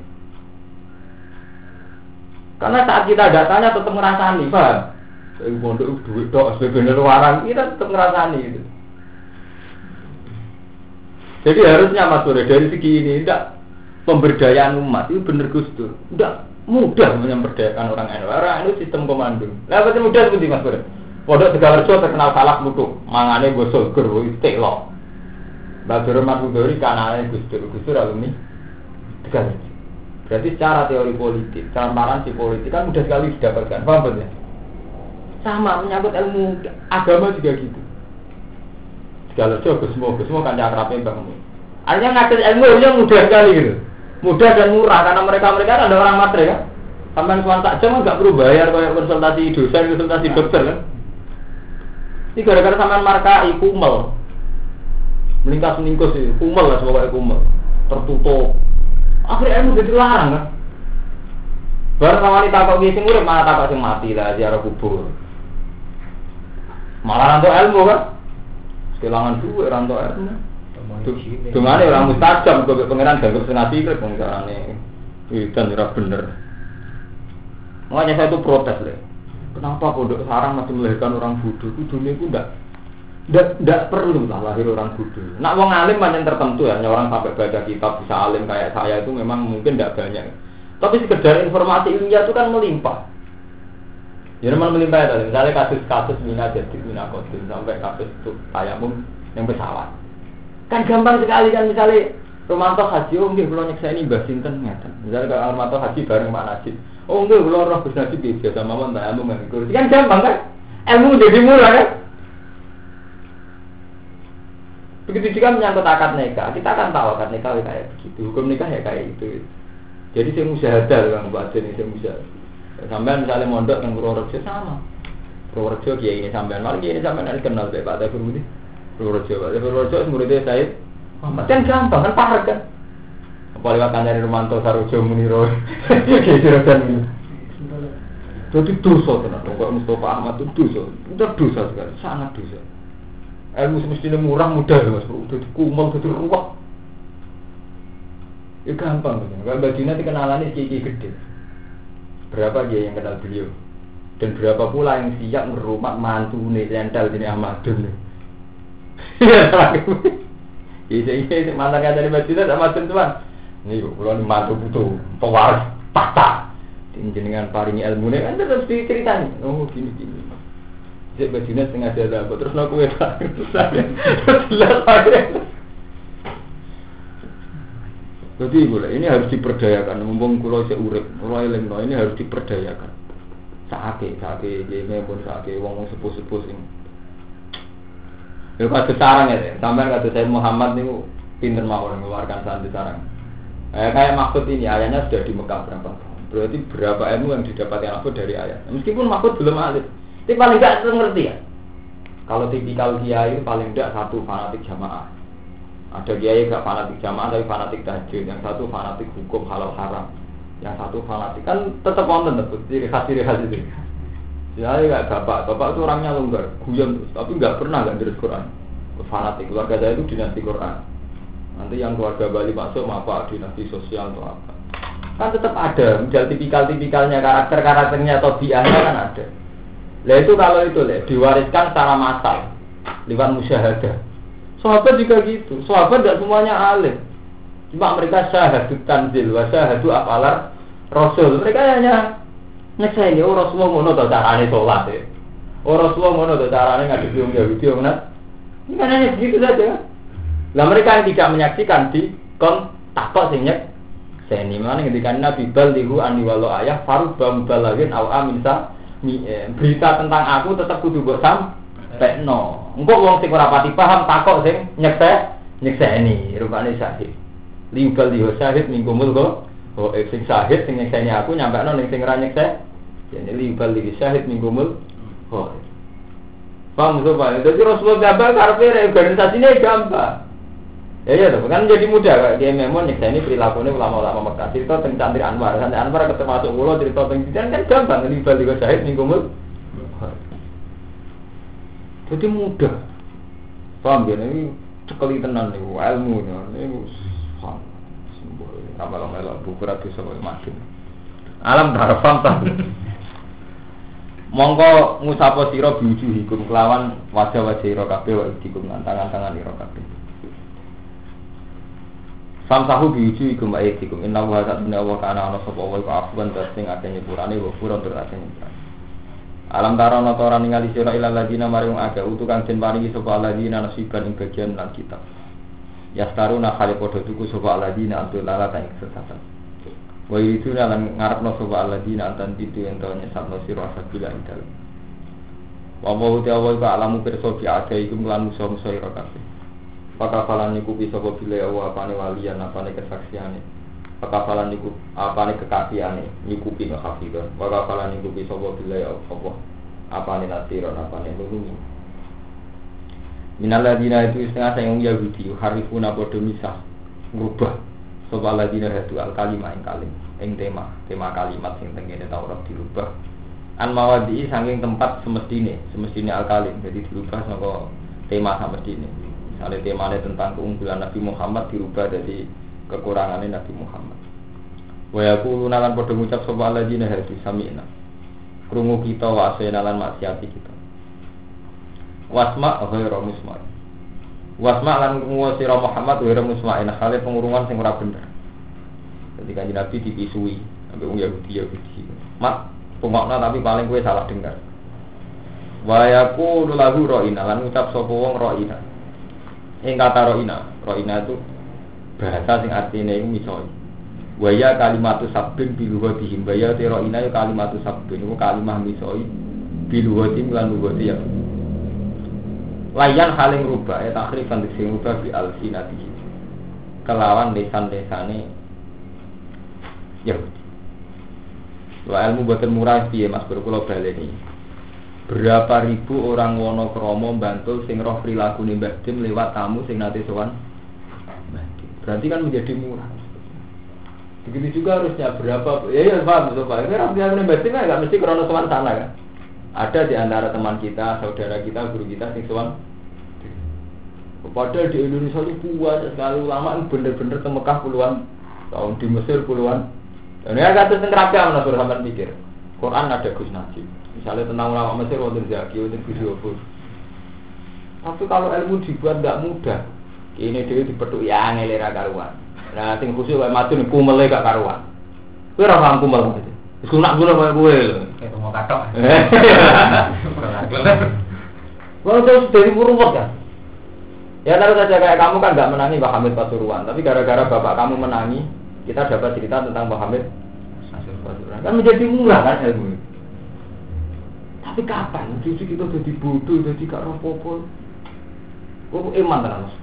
Speaker 1: Karena saat kita datanya tetap ngerasani, paham? Saya pondok duit dok, sebenarnya warang kita tetap ngerasani gitu. Jadi harusnya Mas Bro dari segi ini tidak pemberdayaan umat itu benar Gus Dur. Tidak mudah memberdayakan orang N U. Orang itu sistem komando. Lah pasti mudah seperti Mas Bro. Pondok Tegalrejo terkenal salah lutuk, mangane gosol gur istilok. Badurun Madudori kanalnya Gus Dur, Gus Dur alumni Tegalrejo. Berarti secara teori politik, transparansi politik kan mudah sekali didapatkan. Paham betul ya? Sama menyangkut ilmu agama juga gitu. Tegalrejo Gusmo, Gusmo kan akrabnya Mbah Mun. Artinya ngajar ilmu yang mudah sekali gitu. Mudah dan murah karena mereka-mereka ada orang matre kan. Sampai suan tak jam enggak perlu bayar kayak konsultasi dosen, konsultasi dokter kan. Ini gara-gara sampean markai kumel. Melingkas meningkus itu, kumel lah sebagai kumel. Tertutup. Akhirnya ilmu jadi larang kan. Baru wanita kok sing urip malah takok sing mati lah ziarah kubur. Malah rantuk ilmu kan. Kehilangan duit rantuk ilmu. Dungane orang mustajab kok pangeran ganggu senati kok carane. Itu ora bener. Makanya saya itu protes le. Kenapa pondok sarang masih melahirkan orang bodoh? Itu dunia itu enggak Tidak, tidak perlu lah lahir orang bodoh. Nak wong alim macam tertentu ya, orang sampai baca kitab bisa alim kayak saya itu memang mungkin tidak banyak. Tapi sekedar informasi ilmiah itu kan melimpah. Ya memang melimpah ya, misalnya kasus-kasus mina jadi mina kodim sampai kasus itu tayamum yang pesawat. Kan gampang sekali kan misalnya Romanto Haji, oh nggih kula nyeksa ini Mbah Sinten ngeten. Misalnya kalau Romanto Haji bareng Pak Najib. Oh nggih kula roh Gus Najib biasa mawon tayamum ngene. Kan gampang kan? Ilmu jadi murah kan? Begitu juga menyangkut akad nikah, kita akan tahu akad nikah kayak begitu, hukum nikah ya kayak itu. Jadi saya musyahadah kan buat ini saya musyahadah. Sampai misalnya mondok yang Purworejo sama, Purworejo kiai ini sampai malah kiai ini sampai nanti kenal deh Pak Tafur ini Purworejo, Pak Purworejo muridnya saya, kan gampang kan parah kan. Apalagi akan dari Romanto Sarojo Muniro, kiai Juragan ini. Jadi dosa tenar, kalau Mustafa Ahmad itu dosa, itu dosa sekali, sangat dosa. Ilmu semestinya murah mudah ya Mas Bro, udah kumel, udah ruwet. Ya gampang kan, kalau Badina dikenalannya kiai gede. Berapa dia yang kenal beliau? Dan berapa pula yang siap ngerumat mantu nih, lental ini Ahmadun nih. Iya, iya, mantan yang dari Badina sama tuan. Nih, kalau ini mantu butuh pewaris patah. Jenengan paringi ilmu nih, kan terus diceritain. Oh gini gini. Jadi bajunya setengah dada, terus aku wedak, terus saya, terus jelas saya. Jadi boleh, ini harus diperdayakan. Mumpung kulo saya urip, kulo eling, ini harus diperdayakan. Sakit, sakit, ini pun sakit, wong sepuh sepuh sing. Kalau kata sarang ya, sampai kata saya Muhammad ini pinter mau mengeluarkan santri sarang. Eh, kayak maksud ini ayahnya sudah di Mekah berapa tahun? Berarti berapa ilmu yang didapatkan aku dari ayah? Meskipun maksud belum alit. Tapi paling tidak ngerti ya. Kalau tipikal kiai paling tidak satu fanatik jamaah. Ada kiai gak fanatik jamaah tapi fanatik tahajud. Yang satu fanatik hukum halal haram. Yang satu fanatik kan tetap wonten tetap ciri khas ciri khas itu. Jadi kayak bapak, bapak itu orangnya longgar, guyon terus, tapi nggak pernah nggak dari Quran. Fanatik keluarga saya itu dinasti Quran. Nanti yang keluarga Bali masuk apa dinasti sosial atau apa. Kan tetap ada, model tipikal-tipikalnya karakter-karakternya atau biahnya kan ada. Lah itu kalau itu le diwariskan secara massal lewat musyahadah. Sahabat juga gitu. Sahabat tidak semuanya alim. Cuma mereka syahadut tanzil wa syahadu afalar rasul. Mereka hanya nyekseni oh Rasulullah ngono to carane salat ya. Oh Rasulullah ngono to carane ngadepi wong Yahudi wong Nasrani. Ini kan hanya begitu saja. Lah mereka yang tidak menyaksikan di kon takok sing nyekseni. Mana ketika Nabi ballighu anni walau ayah farubba mubalaghin aw aminsa berita tentang aku tetap kudu mbok sampekno. Engko wong sing ora pati paham takok sing nyekse nyekseni rupane syahid. Liubal liho syahid mingkumul kok. Oh sing syahid sing nyekseni aku nyampekno ning sing ora nyekse. Yen liubal liho syahid mingkumul. Oh. Paham sopan. Jadi Rasulullah gambar karepe organisasine gampang. Ya ya tuh kan jadi mudah dia memang nyekseni perilakunya ulama-ulama Mekah. Cerita tentang Santri Anwar, Santri Anwar ketemu masuk ulo cerita tentang kan gampang ini balik ke syahid mingkumul. Jadi mudah. Paham ya ini cekeli tenan niku ilmu niku simbol tambah melok buku ra bisa makin alam darafam ta mongko ngucapo sira biuju hukum kelawan wajah-wajah ira kabeh wa dikum tangan-tangan ira kabeh samsahu biuju hukum ayat dikum inna wa ta'ala wa kana ana sapa wa afwan tasing akeh nyepurane wa furon tur akeh nyepurane alam tarono to ora ningali sira ilal ladina maring aga utu kang den paringi sapa ladina nasiban ing bagian lan kitab yastaruna khali padha tuku sapa ladina antul lala ta ing sesatan wa itu lan ngarepno sapa ladina antan pitu ento nyesatno sira sabila ing dalem wa wa uti awal ka alamu pirsa bi aga iku lan musa-musa ira kabeh pakafalan niku bisa sapa bile wa apane walian apane kesaksiane pakafalan niku apane kekafiane nyukupi ngakafidon pakafalan niku bisa sapa bile apa apane nasiron apane nulungi minaladina itu setengah sayang Yahudi harifuna padha misah ngubah sapa ladina hadu al kalimah ing kalim ing tema tema kalimat sing tengene Taurat dirubah an mawadi saking tempat semestine semestine al kalim jadi dirubah saka tema semestine misalnya temanya tentang keunggulan Nabi Muhammad dirubah dari kekurangannya Nabi Muhammad wa yaquluna lan padha ngucap sapa alladzina hadu sami'na krungu kita wa asena lan maksiati kita wasma ghairu musma wasma lan krungu sira Muhammad ghairu musma ina hale pengurungan sing ora bener jadi kanjeng Nabi dipisui sampai wong Yahudi Yahudi mak pengokna tapi paling kowe salah dengar wa yaqulu lahu ra'ina lan ngucap sapa wong ra'ina ing kata roina, roina itu bahasa sing artine iku misoi. Waya kalimatu sabbin biluwatihim waya te roina yo kalimatu sabbin iku kalimah misoi biluwatim lan luwati ya. Layan haling rubah ya takrifan sing rubah bi alsinati. Kelawan lesan-lesane ya. Wa ilmu boten murah piye Mas Bro kula baleni. Berapa ribu orang wono kromo bantul sing roh prilakune Mbah Dim lewat tamu sing nate sowan Mbah Dim. Berarti kan menjadi murah. Begitu juga harusnya berapa ya ya paham Pak. Ini roh prilakune Mbah Dim enggak mesti krono sowan sana kan. Ada di antara teman kita, saudara kita, guru kita sing sowan. Padahal di Indonesia itu banyak sekali ulama yang bener-bener ke Mekah puluhan tahun, di Mesir puluhan. Dan ini agak tertenggelam menurut sampean pikir. Quran ada Gus Najib. Misalnya tentang ulama Mesir wonten Zaki, wonten video pun. Tapi kalau ilmu dibuat enggak mudah. Ini dhewe dipethuk ya angel ra karuan. Nah sing khusus wae matun kumele gak karuan. Kowe ora paham kumel maksudnya. Wis kunak kula koyo kowe lho. Kayak mau katok. Kalau terus dari ruwet kan. Ya taruh saja kayak kamu kan enggak menangi Mbah Hamid Pasuruan, tapi gara-gara bapak kamu menangi, kita dapat cerita tentang Mbah Hamid Pasuruan. Kan menjadi murah kan ilmu. Tapi kapan? Justru kita jadi bodoh, jadi gak roh-popo. Kok iman tenan Mas?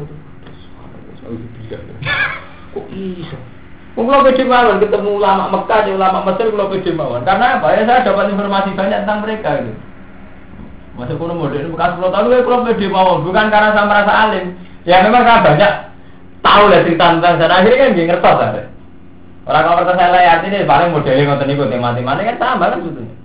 Speaker 1: Kok bisa? Kok kalau pede mawon ketemu ulama Mekah, ulama Mesir kalau pede mawon. Karena apa? Ya saya dapat informasi banyak tentang mereka itu. Masuk kuno modern bekas sepuluh tahun kalau pede mawon, bukan karena saya merasa alim. Ya memang saya banyak tahu lah cerita tentang sana. Akhirnya kan nggih ngertos ada. Orang kalau kata saya lihat ini paling modelnya ngoten niku tema-temane kan sama kan sebetulnya.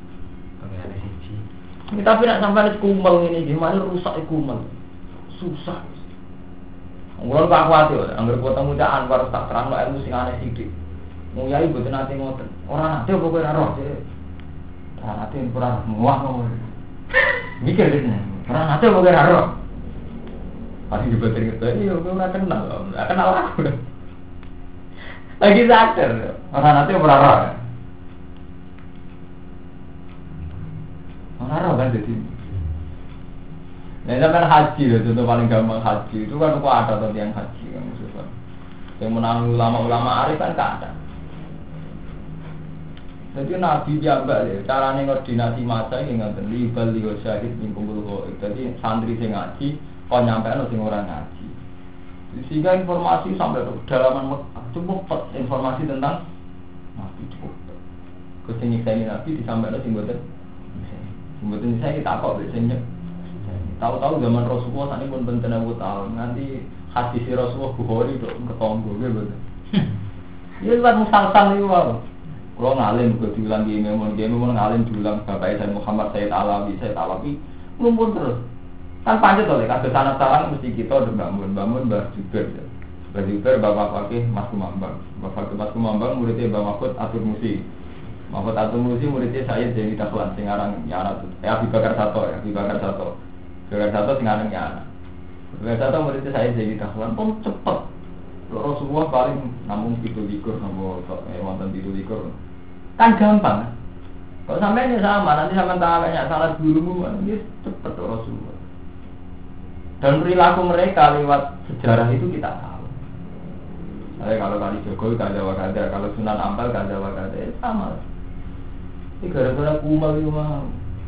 Speaker 1: Ini tapi nak sampai kumel ini gimana rusak kumel, susah. Ngulon pak khawatir, angger ketemu cak Anwar tak terang ilmu sing aneh sidik. Mau yai buat nanti ngoten, orang nanti apa kau naruh sih? Orang nanti kurang muah mau. Mikir deh, orang nanti apa kau naruh? Pasti juga teringat, iya kau nggak kenal, nggak kenal aku. Lagi sadar, orang nanti apa naruh? Orang kan jadi. Nah, itu kan haji loh, contoh paling gampang haji itu kan kok ada atau yang haji kan maksudnya. Yang menang ulama-ulama arif kan gak ada. Jadi Nabi jambak ya, caranya koordinasi masa ini nggak terlibat lihat syahid mingkumpul kok. Jadi santri sing ngaji, kau nyampe no sing orang ngaji. Sehingga informasi sampai ke kedalaman cukup informasi tentang Nabi cukup. Kesini saya Nabi disampaikan sing boten. Sebetulnya saya kita kok biasanya tahu-tahu zaman Rasulullah saat ini pun benten aku tahu nanti hadis Rasulullah Bukhari itu ketonggo gitu. Ya lewat musalsal itu wow. Kalau ngalim juga diulang gini, mau gini mau ngalim diulang bapak saya Muhammad Sayyid Alawi Sayyid Alawi lumpur terus. Kan pancet oleh kados anak sarang mesti kita udah bangun, bangun Mbah Juber. Mbah Juber Bapak Fakih Mas Kumambang. Bapak Fakih Mas Kumambang muridnya Mbah Mahfud Atur Musi. Mahfud Atur Musi muridnya saya jadi Dahlan sing aran Nyana. Eh Abi Bakar Sato ya, Abi Bakar Sato. Bakar Sato sing aran Nyana. Bakar Sato muridnya saya jadi Dahlan pun cepet. Rasulullah paling namun pitu likur napa eh wonten pitu likur. Kan gampang. Kalau sampai ini sama, nanti sama tanya salah gurumu, ini cepet Rasulullah. Dan perilaku mereka lewat sejarah itu kita tahu. Saya kalau kali Jokowi kada wakada, kalau Sunan Ampel kada wakada, ya sama. Ini gara-gara kumal itu mah.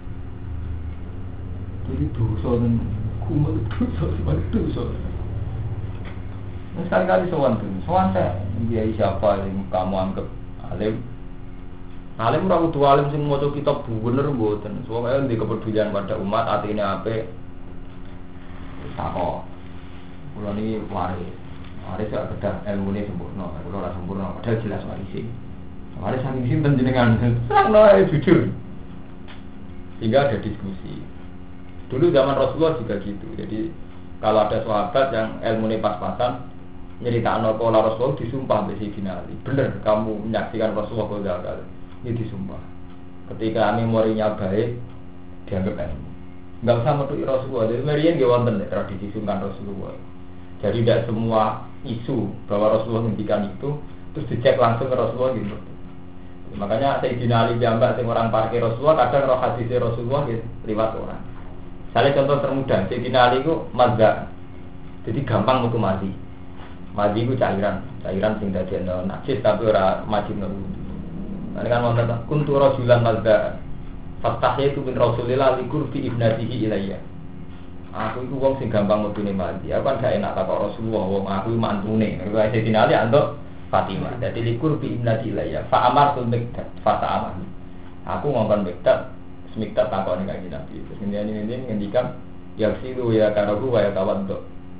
Speaker 1: Jadi dosa dan kumal itu dosa, sebagai dosa. Nah, sekali-kali sowan tuh, sowan saya, dia siapa yang kamu anggap alim? Alim ora kudu alim sing maca kitab bener mboten. Soale ndek kepedulian pada umat, atine apik. Takok. Kula niki waris. Waris gak kedah ilmune sempurna, kula ora sempurna, padahal jelas waris. Waris saking sinten jenengan? Serangno ae jujur. Sehingga ada diskusi. Dulu zaman Rasulullah juga gitu. Jadi kalau ada sahabat yang ilmune pas-pasan nyeritakno pola Rasulullah disumpah mbek Sayyidina Ali. Bener kamu menyaksikan Rasulullah kok ini disumpah. Ketika memorinya baik, dianggap ilmu. Enggak usah metuki Rasulullah. Jadi meriyen nggih wonten tradisi sungkan Rasulullah. Jadi tidak semua isu bahwa Rasulullah ngendikan itu terus dicek langsung ke Rasulullah gitu. Makanya Sayyidina Ali jambak sing orang parkir Rasulullah kadang roh hadis Rasulullah gitu, lewat orang. Salah contoh termudah, Sayyidina Ali itu mazza. Jadi gampang metu mati. Mati itu cairan, cairan sing dadi najis tapi ora majibno. Ini kan wonten kuntu rajulan mazda. Faktahnya itu min Rasulillah likur fi ibnatihi ilayya. Aku itu wong sing gampang mudune mati. Aku kan gak enak takok Rasulullah wong aku mantune. Kaya Sayyidina Ali antuk Fatimah. Jadi likur fi ibnatihi ilayya. Fa amartu miktat fa ta'amah. Aku ngongkon miktat, miktat takoni kanjeng Nabi. Terus ngene-ngene ngendikan ya silu ya karabu wa ya tawaddu.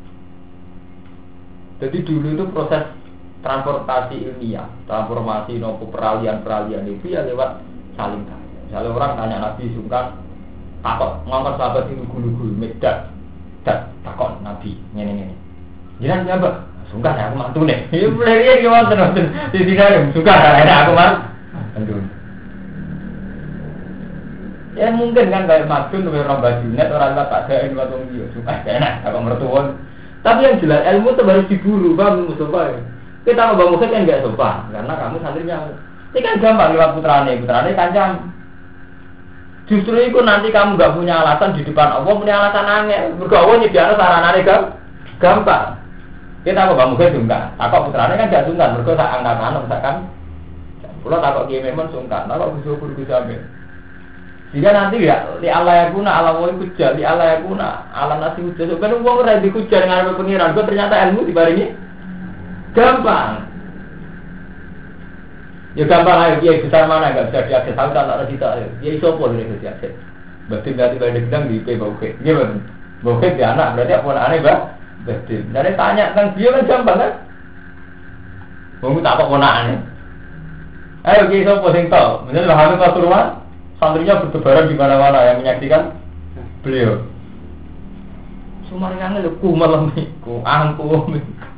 Speaker 1: Jadi dulu itu proses transportasi ilmiah, transformasi nopo peralihan-peralihan itu ya lewat saling tanya. Misalnya orang tanya Nabi sungkan, takut ngangkat sahabat itu gulu-gulu, medak, tak takut Nabi, ngene-ngene. Jangan siapa? Sungkan ya aku mantu nih. Ini boleh dia gimana tuh? Di sini ada sungkan ada aku mantu. Ya mungkin kan kayak madun, kayak orang bajunet, orang tak ada ini waktu dia suka enak, aku mertuon. Tapi yang jelas ilmu itu harus diburu, bang Mustafa. Kita mau bangun kan nggak sopan, karena kamu santrinya. Ini kan gampang lewat putrane, putrane kancam. Justru itu nanti kamu nggak punya alasan di depan Allah, punya alasan angel. Bergaul nyediakan saranane kan gampang. Kita mau bangun kan sungkan, takut putrane kan gak sungkan, bergaul tak angkat-angkat, misalkan. Kalau takut dia memang sungkan, takut bisa bergaul sampai. Jika nanti ya, li Allah ya guna, Allah woi kujar, li Allah ya guna, Allah nasi kujar. Sebenarnya uang udah dikujar dengan apa pengiran, gue ternyata ilmu dibaringi. Gampang. Ya gampang aja, dia besar mana enggak bisa diakses. Tahu tak ada kita. Dia iso apa ini bisa diakses. Berarti berarti pada gedang di P Bauke. Gimana? Bauke dia anak berarti apa aneh bah? Berarti. Jadi tanya tentang dia kan gampang kan? Kamu tak apa ponaan. Ayo kita iso apa sing tahu. Misalnya Habib Pasuruan, santrinya bertebaran di mana-mana yang menyaksikan beliau. Sumarnya ngene ku malam niku, angku.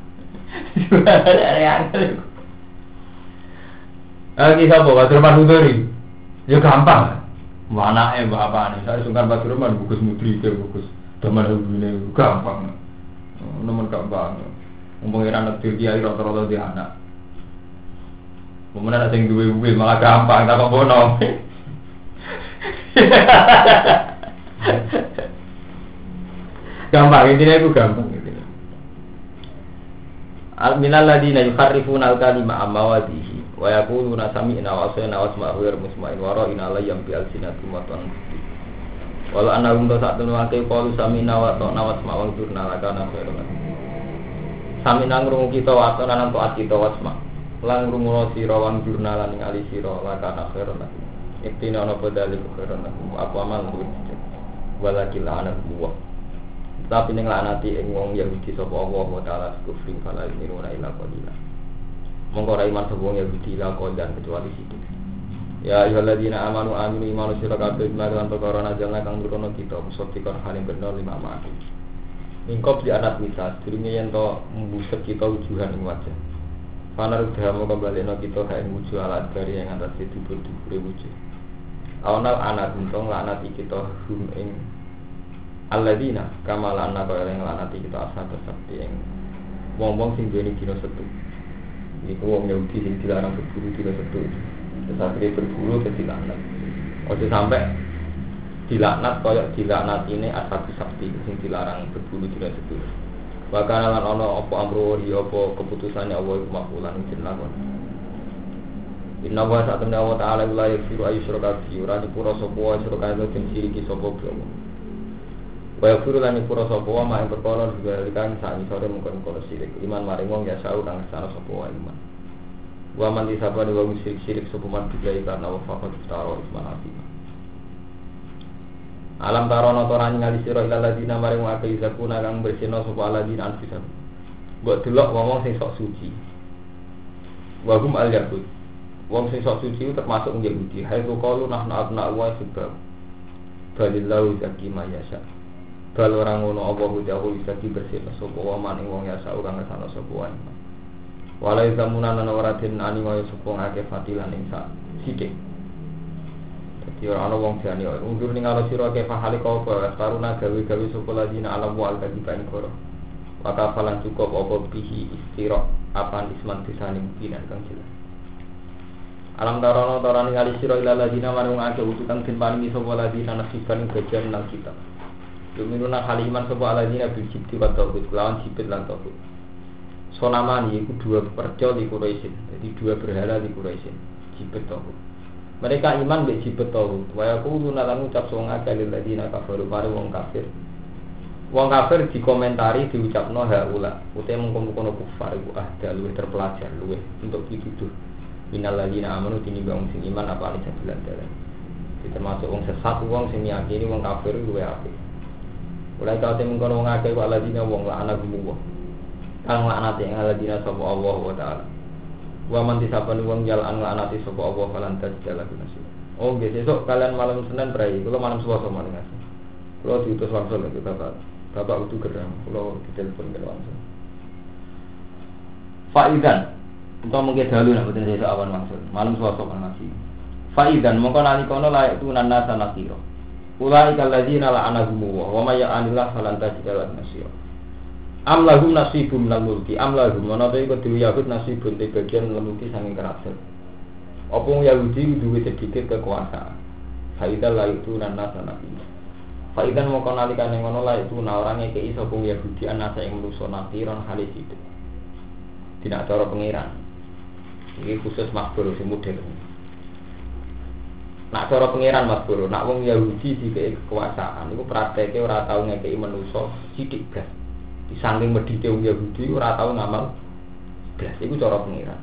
Speaker 1: Lagi siapa? Batur Manudori. Ya gampang. Mana eh bapak nih? Saya sungkan Batur Man, bukus mudri ke bukus. Teman ini gampang. Nomor gampang. Pengiran negeri dia rata-rata di anak. Kemudian ada yang dua-dua malah gampang, tak bono. Gampang, intinya itu gampang. Al-minal ladina yukharrifuna al-kalima amawadihi wa yaquluna sami'na wa asayna wa asma'u wa musma'in wa ra'ina layyam bi al-sinatum wa tanfudi walau annahum tasatun wa kay qalu sami'na wa ta'na wa asma'u wa durna lakana khairan sami'na ngrungu kita wa ta'na lan ta'at kita wa asma' lan ngrungu sira wa durna lan ngali sira lakana khairan iktina ana padali khairan apa amal kuwi walakil ana buwa. Tapi ning laknati ing wong Yahudi sapa Allah wa taala kufri fala yuruna ila qalila. Monggo ra iman sapa wong Yahudi la qaldan kecuali sithik. Ya ayyuhalladzina amanu aminu imanu sira kabeh lan perkara najalna kang nurono kita musabbiqan halim bener lima mati. Mingkop di anak kita, sedurunge yen to mbuset kita wujuhan ing wajah. Panar udhamo kembali no kita kain wujud alat dari yang atas itu berdua wujud. Awnal anak untung laknati kita hum ing alladina kamal anak kau yang laknati kita asal seperti yang wong-wong sing duweni dina setu. Iku wong Yahudi sing dilarang berburu dina setu. Tetapi berburu ke dilaknat. Ojo sampai dilaknat koyok dilaknat ini asal sakti sing dilarang berburu dina setu. Bahkan lan ana apa amro ya apa keputusane Allah iku makbulan ing lakon. Inna wa ta'ala wa ta'ala la yaghfiru ayyushraka bihi ora dipura sapa wa syuraka lan siriki sapa Allah. Wa yaghfiru lan dipura sapa wa mak perkara dibalikan sak isore mungkon-mungkon sirik iman maring wong ya sau kang sana sapa wa iman. Wa man disabani wa musyrik sirik sapa man billahi karena wa faqad taro isman azim. Alam tarono torani ngali sira ila ladina maring wa akeh zakuna kang bersihna sapa ladina anfisah. Mbok delok wong sing sok suci. Wa hum al yahud. Wong sing sok suci termasuk Yahudi. Hai tu qalu nahnu abna wa sebab. Balillahu zaki ma yasha. Bal orang ngono apa udawu zaki bersihna sapa wa maning wong yasa ora ngesana sapa wa. Walai zamunan ana waratin ani wa supung akeh fatilan ing sak sithik. Dadi ora ana wong jane ora undur ning ala sira akeh pahale kok karuna gawe-gawe sapa ladina alam wa al-kadiban koro. Maka falan cukup apa bihi istira apa isman disaning pinan kang jelas. Alam tarono tarani kali sira ila ladina marung akeh utukan den paringi sapa ladina nasiban bagian nang kita. Yuminuna haliman sapa ladina bil jibti wa tauhid lawan jibit lan tauhid. Sonamani iku dua perjo di Quraisy. Jadi dua berhala di Quraisy. Jibet tauhid. Mereka iman mek jibet tauhid. Wa yaquluna lan ucap sing akeh ladina kafaru mare wong kafir. Wong kafir dikomentari diucapno haula. Ute mengkono-kono kufar iku ahda luwih terpelajar luwih untuk dituduh. Minal ladina amanu tinimbang sing iman apa ane jalan dalan. Termasuk wong sesat wong sing meyakini wong kafir luwih apik. Mulai kau temu kono wong akeh wa ladina wong la'ana gumuh. Kang laknati ing ladina sapa Allah wa taala. Wa man disabani wong jalan laknati sapa Allah falan tajala gunasi. Oh nggih sesuk kalian malam Senin brai, kula malam Selasa maling ngasih. Kula diutus langsung lagi Bapak. Bapak utuh gerang, kula ditelepon ke langsung. Faidan untuk mungkin dahulu nak betul saya awan maksud malam suasana kan nasi. Faidan mongko nalikono layak tu nana sanakiro. Ulai kaladzina la anahumu wa may ya'anillah falan tajidal nasir. Am lahum nasibun minal mulki am lahum menawa iku dhewe Yahud nasibun te bagian mulki saking kerajaan. Apa Yahudi duwe sedikit kekuasaan. Faidan layak tu nana sanakiro. Faidan mongko nalikane ngono layak tu nawarane ke iso pun Yahudi anasa ing manusa nakiron halis itu. Tidak cara pengiran. Ini khusus makbul sing model. Nak cara pangeran makbul, nak wong Yahudi dikei kekuasaan, iku prakteke ora tau ngekeki manusa sithik blas. Di saking medhite wong Yahudi ora tau ngamal blas, iku cara pangeran.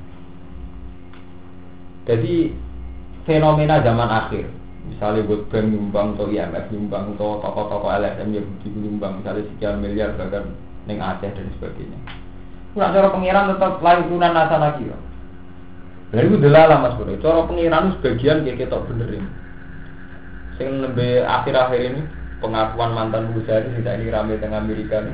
Speaker 1: Jadi fenomena zaman akhir, misalnya buat bank nyumbang atau I M F nyumbang atau tokoh-tokoh L S M Yahudi nyumbang misalnya sekian miliar bahkan ning Aceh dan sebagainya. Nak cara pangeran tetap lain tunan nasa lagi. Lha iku delalah Mas Bro. Cara pengiran sebagian kayak ketok bener ini. Sing nembe akhir-akhir ini pengakuan mantan Bukhari tidak ini rame teng Amerika nih.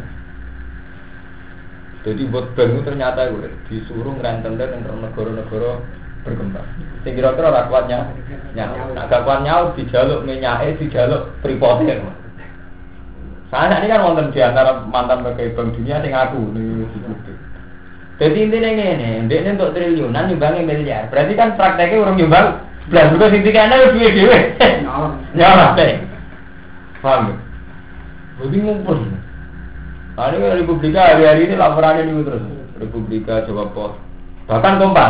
Speaker 1: Jadi buat bank ternyata gue disuruh ngerenten-renten tentang negara-negara berkembang. Sing kira-kira ora kuatnya nyawa. Nek gak kuat nyawa dijaluk menyake dijaluk pripoten. Saya ini kan wonten di antara mantan pegawai bank dunia sing aku nih. Jadi intinya ini, dia untuk triliunan nyumbangin miliar. Berarti kan prakteknya orang nyumbang belas juga sintikannya udah duit duit. Nyawa deh. Paham ya? Jadi ngumpul. Nah ini Republika hari-hari ini laporannya ini terus. Republika Jawa Pos. Bahkan Kompas.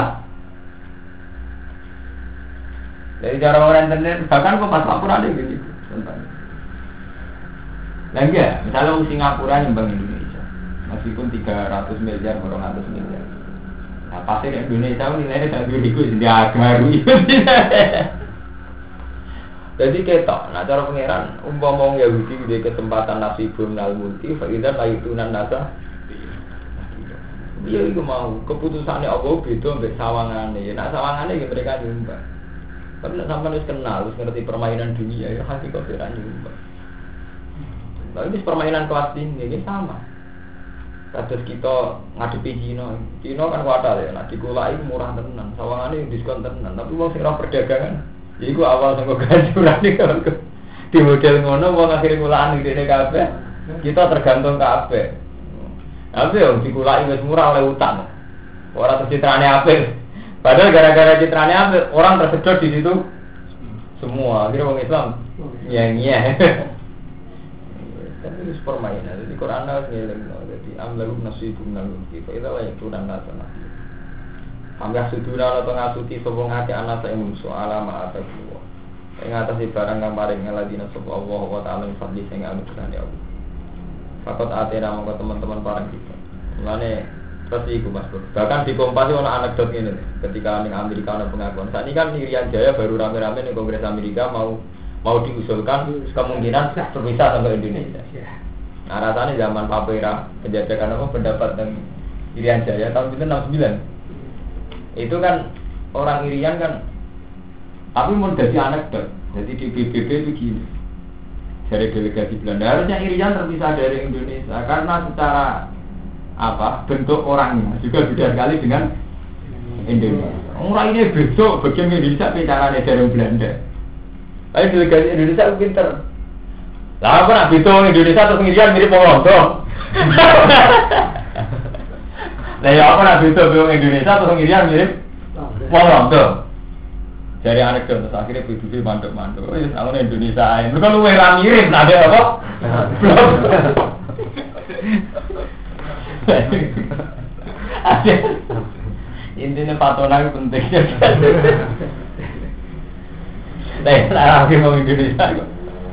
Speaker 1: Dari cara orang internet, bahkan Kompas laporannya gitu. Nah enggak, misalnya Singapura nyumbang Indonesia. Meskipun tiga ratus miliar, dua ratus miliar. Nah, pasti Indonesia nilainya satu ribu sudah baru. Jadi ketok, nah cara pangeran umpama wong Yahudi di kesempatan nasibun minal mulki, fa'idzan la yutunan nasa. Iya iku mau keputusannya Allah beda mbek sawangane. Nah sawangane ya mereka nyumbang. Tapi nek sampean wis kenal, wis ngerti permainan dunia, ya hakikat ora nyumpah. Tapi ini permainan kelas tinggi, ini sama. Kados kita ngadepi Cina, Cina kan kuatal ya, nak dikulai murah tenan, sawangane diskon tenan. Tapi wong sing ora perdagangan, ya iku awal sing ganjuran iki kan. Di model ngono wong akhire kulaan ngene kabeh. Kita tergantung kabeh. Tapi yang dikulai wis murah oleh utang. Ora tercitrane apik. Padahal gara-gara citrane apik, orang tersedot di situ semua. Akhirnya wong Islam nyanyi. Tapi itu permainan. Jadi Quran harus ngeleng. Jadi amlakum nasibum nalum kita. Itu lah yang turun nasana. Amlah sudura atau ngasuti sobong hati anak saya musuh alama atas semua. Yang atas barang yang paling ngeladina sopo Allah wa ta'ala fadli sehingga anugerah ya Allah. Fakot atena mongko teman-teman parang kita. Mulane seperti itu Mas Bro. Bahkan di Kompas itu ada anekdot ini. Ketika di Amerika ada pengakuan. Saat ini kan Irian Jaya baru rame-rame di Kongres Amerika mau mau diusulkan kemungkinan berpisah sampai Indonesia. Nah rasanya zaman Papera penjajakan apa pendapat dan Irian Jaya tahun itu enam puluh sembilan. Itu kan orang Irian kan, tapi mau jadi anekdot. Jadi di B B B itu gini. Dari delegasi Belanda harusnya Irian terpisah dari Indonesia karena secara apa bentuk orangnya juga beda sekali dengan Indonesia. Orang ini besok bagian Indonesia bicaranya dari Belanda. Tapi delegasi Indonesia itu pinter. Lah apa nak bitung Indonesia atau Irian mirip wong Londo. Lah ya apa nak bitung Indonesia atau Irian mirip wong Londo. Dari anekdot terus akhirnya B B B mandek-mandek. Oh ya sama Indonesia ae. Mereka luwih ra mirip ada apa? Intinya patonan penting. Nah, lagi mau Indonesia kok.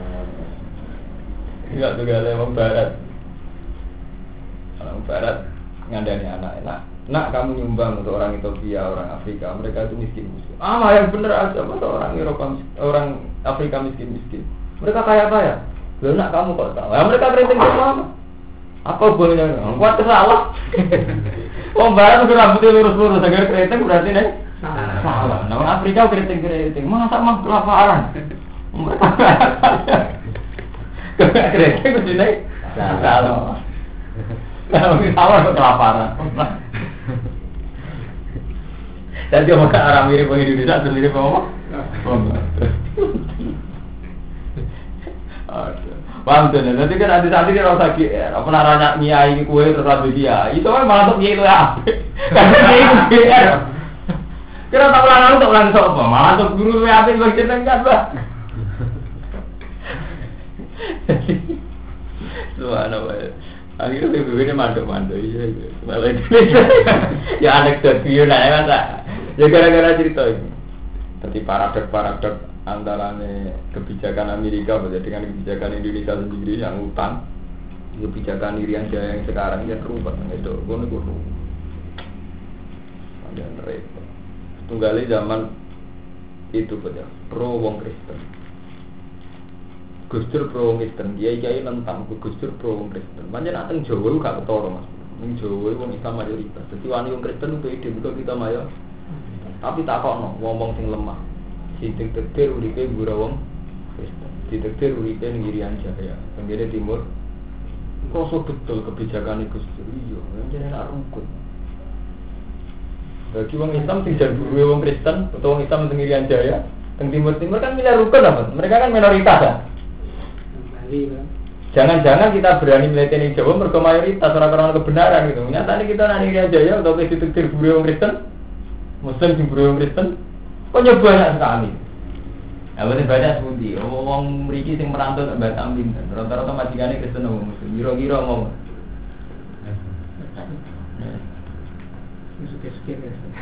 Speaker 1: Enggak juga ada orang Barat. Orang Barat ngandani anak-anak. Nak kamu nyumbang untuk orang Ethiopia, orang Afrika, mereka itu miskin-miskin. Ah, yang benar aja masa orang Eropa, orang Afrika miskin-miskin. Mereka kaya-kaya. Loh, nak kamu kok tahu? Ya mereka keriting semua. Apa bolehnya? Kuat salah. Wong Barat udah rambutnya lurus-lurus, agar keriting berarti nih salah. Nah, orang Afrika keriting-keriting, masa mah kelaparan. Mereka kaya keriting udah nih salah. Kalau salah kok kelaparan. Jadi orang Arab mirip orang Indonesia atau mirip apa? Paham tuh, nanti kan nanti saat ini orang sakit, apa naranya nyai kue terlalu dia, itu kan malah untuk nyai itu ya, karena nyai itu dia. Kira tak ulang untuk ulang sopo, malah untuk guru ya apa yang kita kan bah. Subhanallah. Akhirnya B B B ini manduk-manduk, iya, malah Indonesia. Ya anekdot video nah kan tak. Ya gara-gara cerita ini. Jadi paradok-paradok antara kebijakan Amerika dengan kebijakan Indonesia sendiri yang utang, kebijakan Irian Jaya yang sekarang ya terubah itu, gono-gono. Ada repot. Tunggali zaman itu pada pro wong Kristen. Gus Dur pro wong Kristen, kiai-kiai nentang Gus Dur pro wong Kristen. Pancen ateng Jawa gak ketara Mas. Ning Jawa wong Islam mayoritas. Dadi wani wong Kristen ku ide mergo kita mayo. Tapi takokno ngomong sing lemah. Sing ditetir uripe gura wong Kristen. Ditetir uripe ning Irian Jaya, tenggene timur. Kok betul kebijakan Gus Dur iya, jenenge nak rukun. Bagi wong Islam sing jan guru wong Kristen utawa wong Islam teng Irian Jaya, teng timur-timur kan milih rukun apa? Mereka kan minoritas ya. Jangan-jangan kita berani melihat ini Jawa mergo mayoritas orang-orang kebenaran gitu. Nyatanya kita nang Irian Jaya atau ke ditetir guru wong Kristen, Muslim sing guru wong Kristen, kok nyoba banyak sekali. Ya bener banyak sepundi. Wong mriki sing merantau tak Batam pinten. Rata-rata majikane Kristen wong Muslim. Kira-kira ngomong. Suke-suke.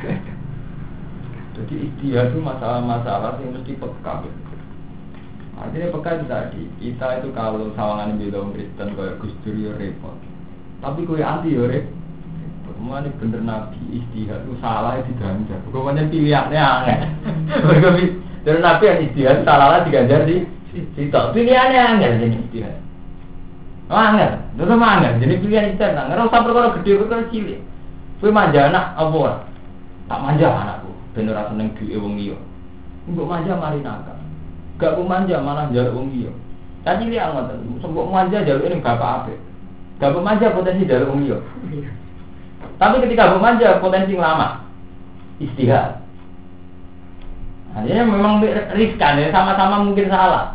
Speaker 1: Jadi istilah itu masalah-masalah yang mesti peka. Artinya peka itu tadi, kita itu kalau sawangan bela orang Kristen kayak Gus Dur ya repot. Tapi kayak anti ya repot. Semua ini bener Nabi istihad itu salah ya diganjar. Pokoknya pilihannya aneh. Dari Nabi yang istihad salahnya diganjar di situ. Pilihannya aneh jadi istihad. Oh aneh, itu sama aneh. Jadi pilihan istihad. Nggak usah perkara gede perkara cilik. Kue manja anak apa? Tak manja anakku. Bener rasa neng duwe wong liya. Mbok manja mari nakal. Gak ku manja malah njaluk wong liya. Tadi liya ngoten, mbok manja njaluk ning bapak apik. Gak mbok manja potensi njaluk wong liya. Tapi ketika mbok manja potensi lama. Istihad. Hanya memang riskan ya, sama-sama mungkin salah.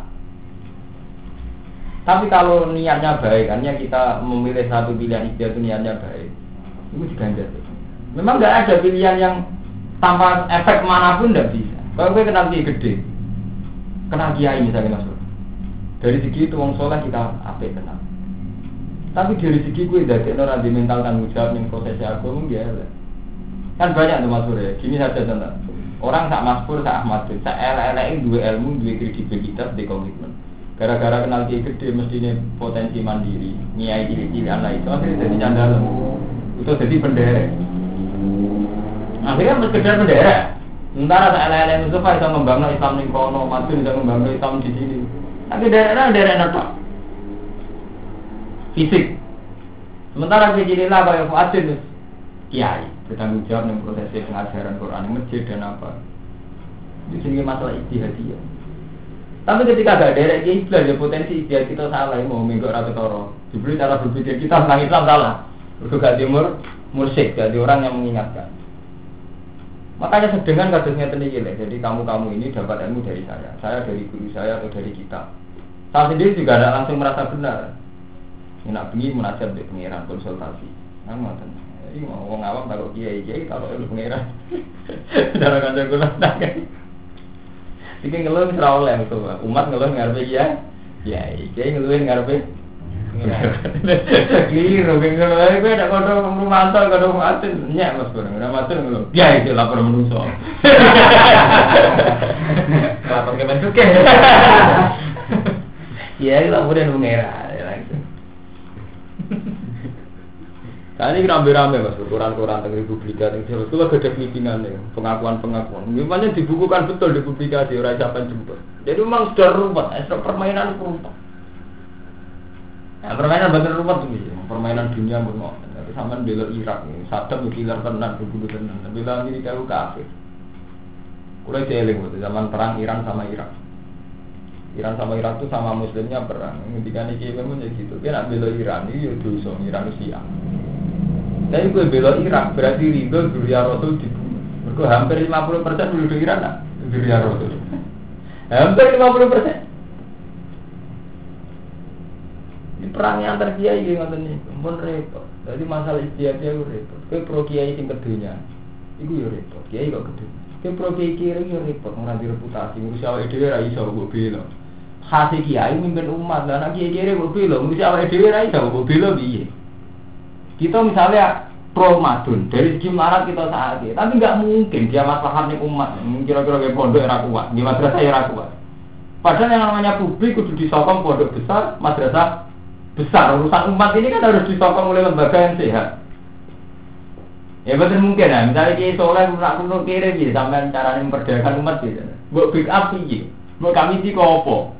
Speaker 1: Tapi kalau niatnya baik, hanya kita memilih satu pilihan istihad itu niatnya baik. Itu diganjar. Memang nggak ada pilihan yang tanpa efek manapun tidak bisa. Kalau gue kenal kiai gede, kenal kiai misalnya Mas Bro. Dari segi itu wong soleh kita apik kenal. Tapi dari segi gue dari orang di mental tanggung jawab yang prosesnya aku mungkin ya. Kan banyak tuh Mas Bro ya. Gini saja contoh. Orang sak Mas Bro, sak Ahmad, sak elek-elek dua ilmu, dua kredibilitas, dua komitmen. Gara-gara kenal kiai gede mestinya potensi mandiri, nyai cilik-cilik anak itu akhirnya jadi candalan. Itu jadi bendera. Akhirnya sekedar bendera. Sementara elek-elek Mustafa bisa membangun Islam di kono, Mati bisa membangun Islam di sini. Tapi daerah-daerah nato fisik. Sementara kecililah kayak Fuadin, kiai bertanggung jawab dengan proses pengajaran Quran di masjid dan apa. Di sini masalah ijtihadiyah. Tapi ketika ada daerah kiai belajar potensi ijtihad kita salah, mau minggu atau toro. Diberi cara berpikir kita tentang Islam salah. Berdoa timur mursyid, jadi orang yang mengingatkan. Makanya sedengan kasusnya tinggi lah. Jadi kamu-kamu ini dapat ilmu dari saya, saya dari guru saya atau dari kita. Saya sendiri juga tidak langsung merasa benar. Ini nak pergi munajat di pengiran konsultasi. Kan ngoten. Jadi mau ngomong awam kalau kiai kiai kalau ilmu pengiran. Darah kanca kula tak. Iki ngeluh ora oleh itu. Umat ngeluh ngarepe kiai. Kiai kiai ngeluh ngarepe. Kira bingung lagi, gue ada kodok rumah mantel, kodok matin, nyak mas kurang, udah matin ngeluh. Ya itu lapor menuso. Lapor ke Mensuke. Ya itu laporan mengira. Kali ini rame-rame mas, koran-koran tentang Republika, tentang itu lah gede meetingan nih, pengakuan-pengakuan. Memangnya dibukukan betul di publikasi, orang siapa jemput. Jadi memang sudah rumput, ekstra permainan rumput. Nah, permainan bagian rumah tuh gitu, permainan dunia bermau. Tapi sama bela Irak nih, Saddam killer tenan, berbunuh tenan. Bela Amerika itu kafir. Kulai jeling waktu zaman perang Iran sama Irak. Iran sama Irak tuh sama Muslimnya perang. Ketika ini memang jadi gitu. Dia nak bela Iran ini ya dosa, Iran Rusia. Tapi gue bela Irak berarti ridho Duriya Rasul dibunuh. Mereka hampir lima puluh persen penduduk Iran nak Duriya Rasul. Hampir lima puluh persen. Perangnya antar kiai gitu ngoten niku, pun repot. Jadi masalah ijtihadnya itu repot. Kowe pro kiai sing kedunya, iku yo repot. Kiai kok kedhe. Kowe pro kiai kiri yo repot, ora di reputasi. Ngurus awake dhewe ra iso mbok bela. Khase kiai mimpin umat, lah nek kiai kiri mbok bela, ngurus awake dhewe ra iso mbok bela piye? Kita misalnya pro madun, dari segi marat kita saat ini, tapi nggak mungkin dia maslahat ning umat. Kira-kira kayak pondok ra kuat, di madrasah ya ra kuat. Padahal yang namanya publik kudu disokong pondok besar, madrasah besar. Urusan umat ini kan harus disokong oleh lembaga yang sehat. Ya betul mungkin lah. Misalnya kiai soleh nak kuno kiri gitu, sampai cara memperdayakan umat gitu. Buat big up sih, buat kami sih kopo.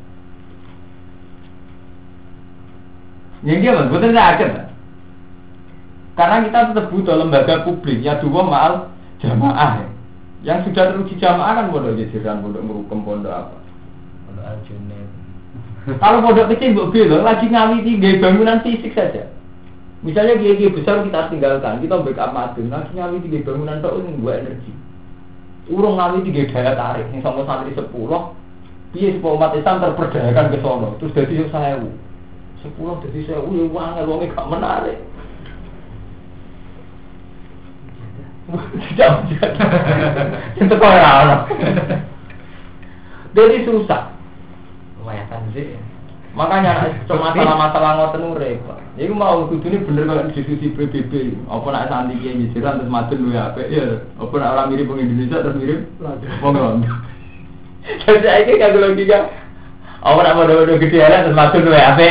Speaker 1: Yang dia mas, betul tidak akan. Karena kita tetap butuh lembaga publik ya dua mal jamaah. Yang sudah teruji jamaah kan pondok jajaran, pondok merukem, pondok apa? Pondok Aljunet. Kalau pondok kecil mbok bela lagi ngawiti nggih bangunan fisik saja. Misalnya kiai-kiai besar kita tinggalkan, kita backup madun, lagi ngawiti nggih bangunan tok sing mbok energi. Urung ngawiti nggih daya tarik sing sama santri sepuluh, piye supaya umat Islam terperdayakan ke sono, terus dadi seribu. sepuluh dadi seribu ya wong wonge gak menarik. Jangan. Itu kok ora ono. Jadi susah. Lumayan sih. Makanya cuma masalah-masalah ngoten repot. Iku mau kudune bener kok diskusi P B B. Apa nek santri iki nyisiran terus madun luwih apik ya. Apa nek ora mirip wong Indonesia terus mirip wong Londo. Jadi saiki kanggo logika. Apa nek modho-modho gede ala terus madun luwih apik.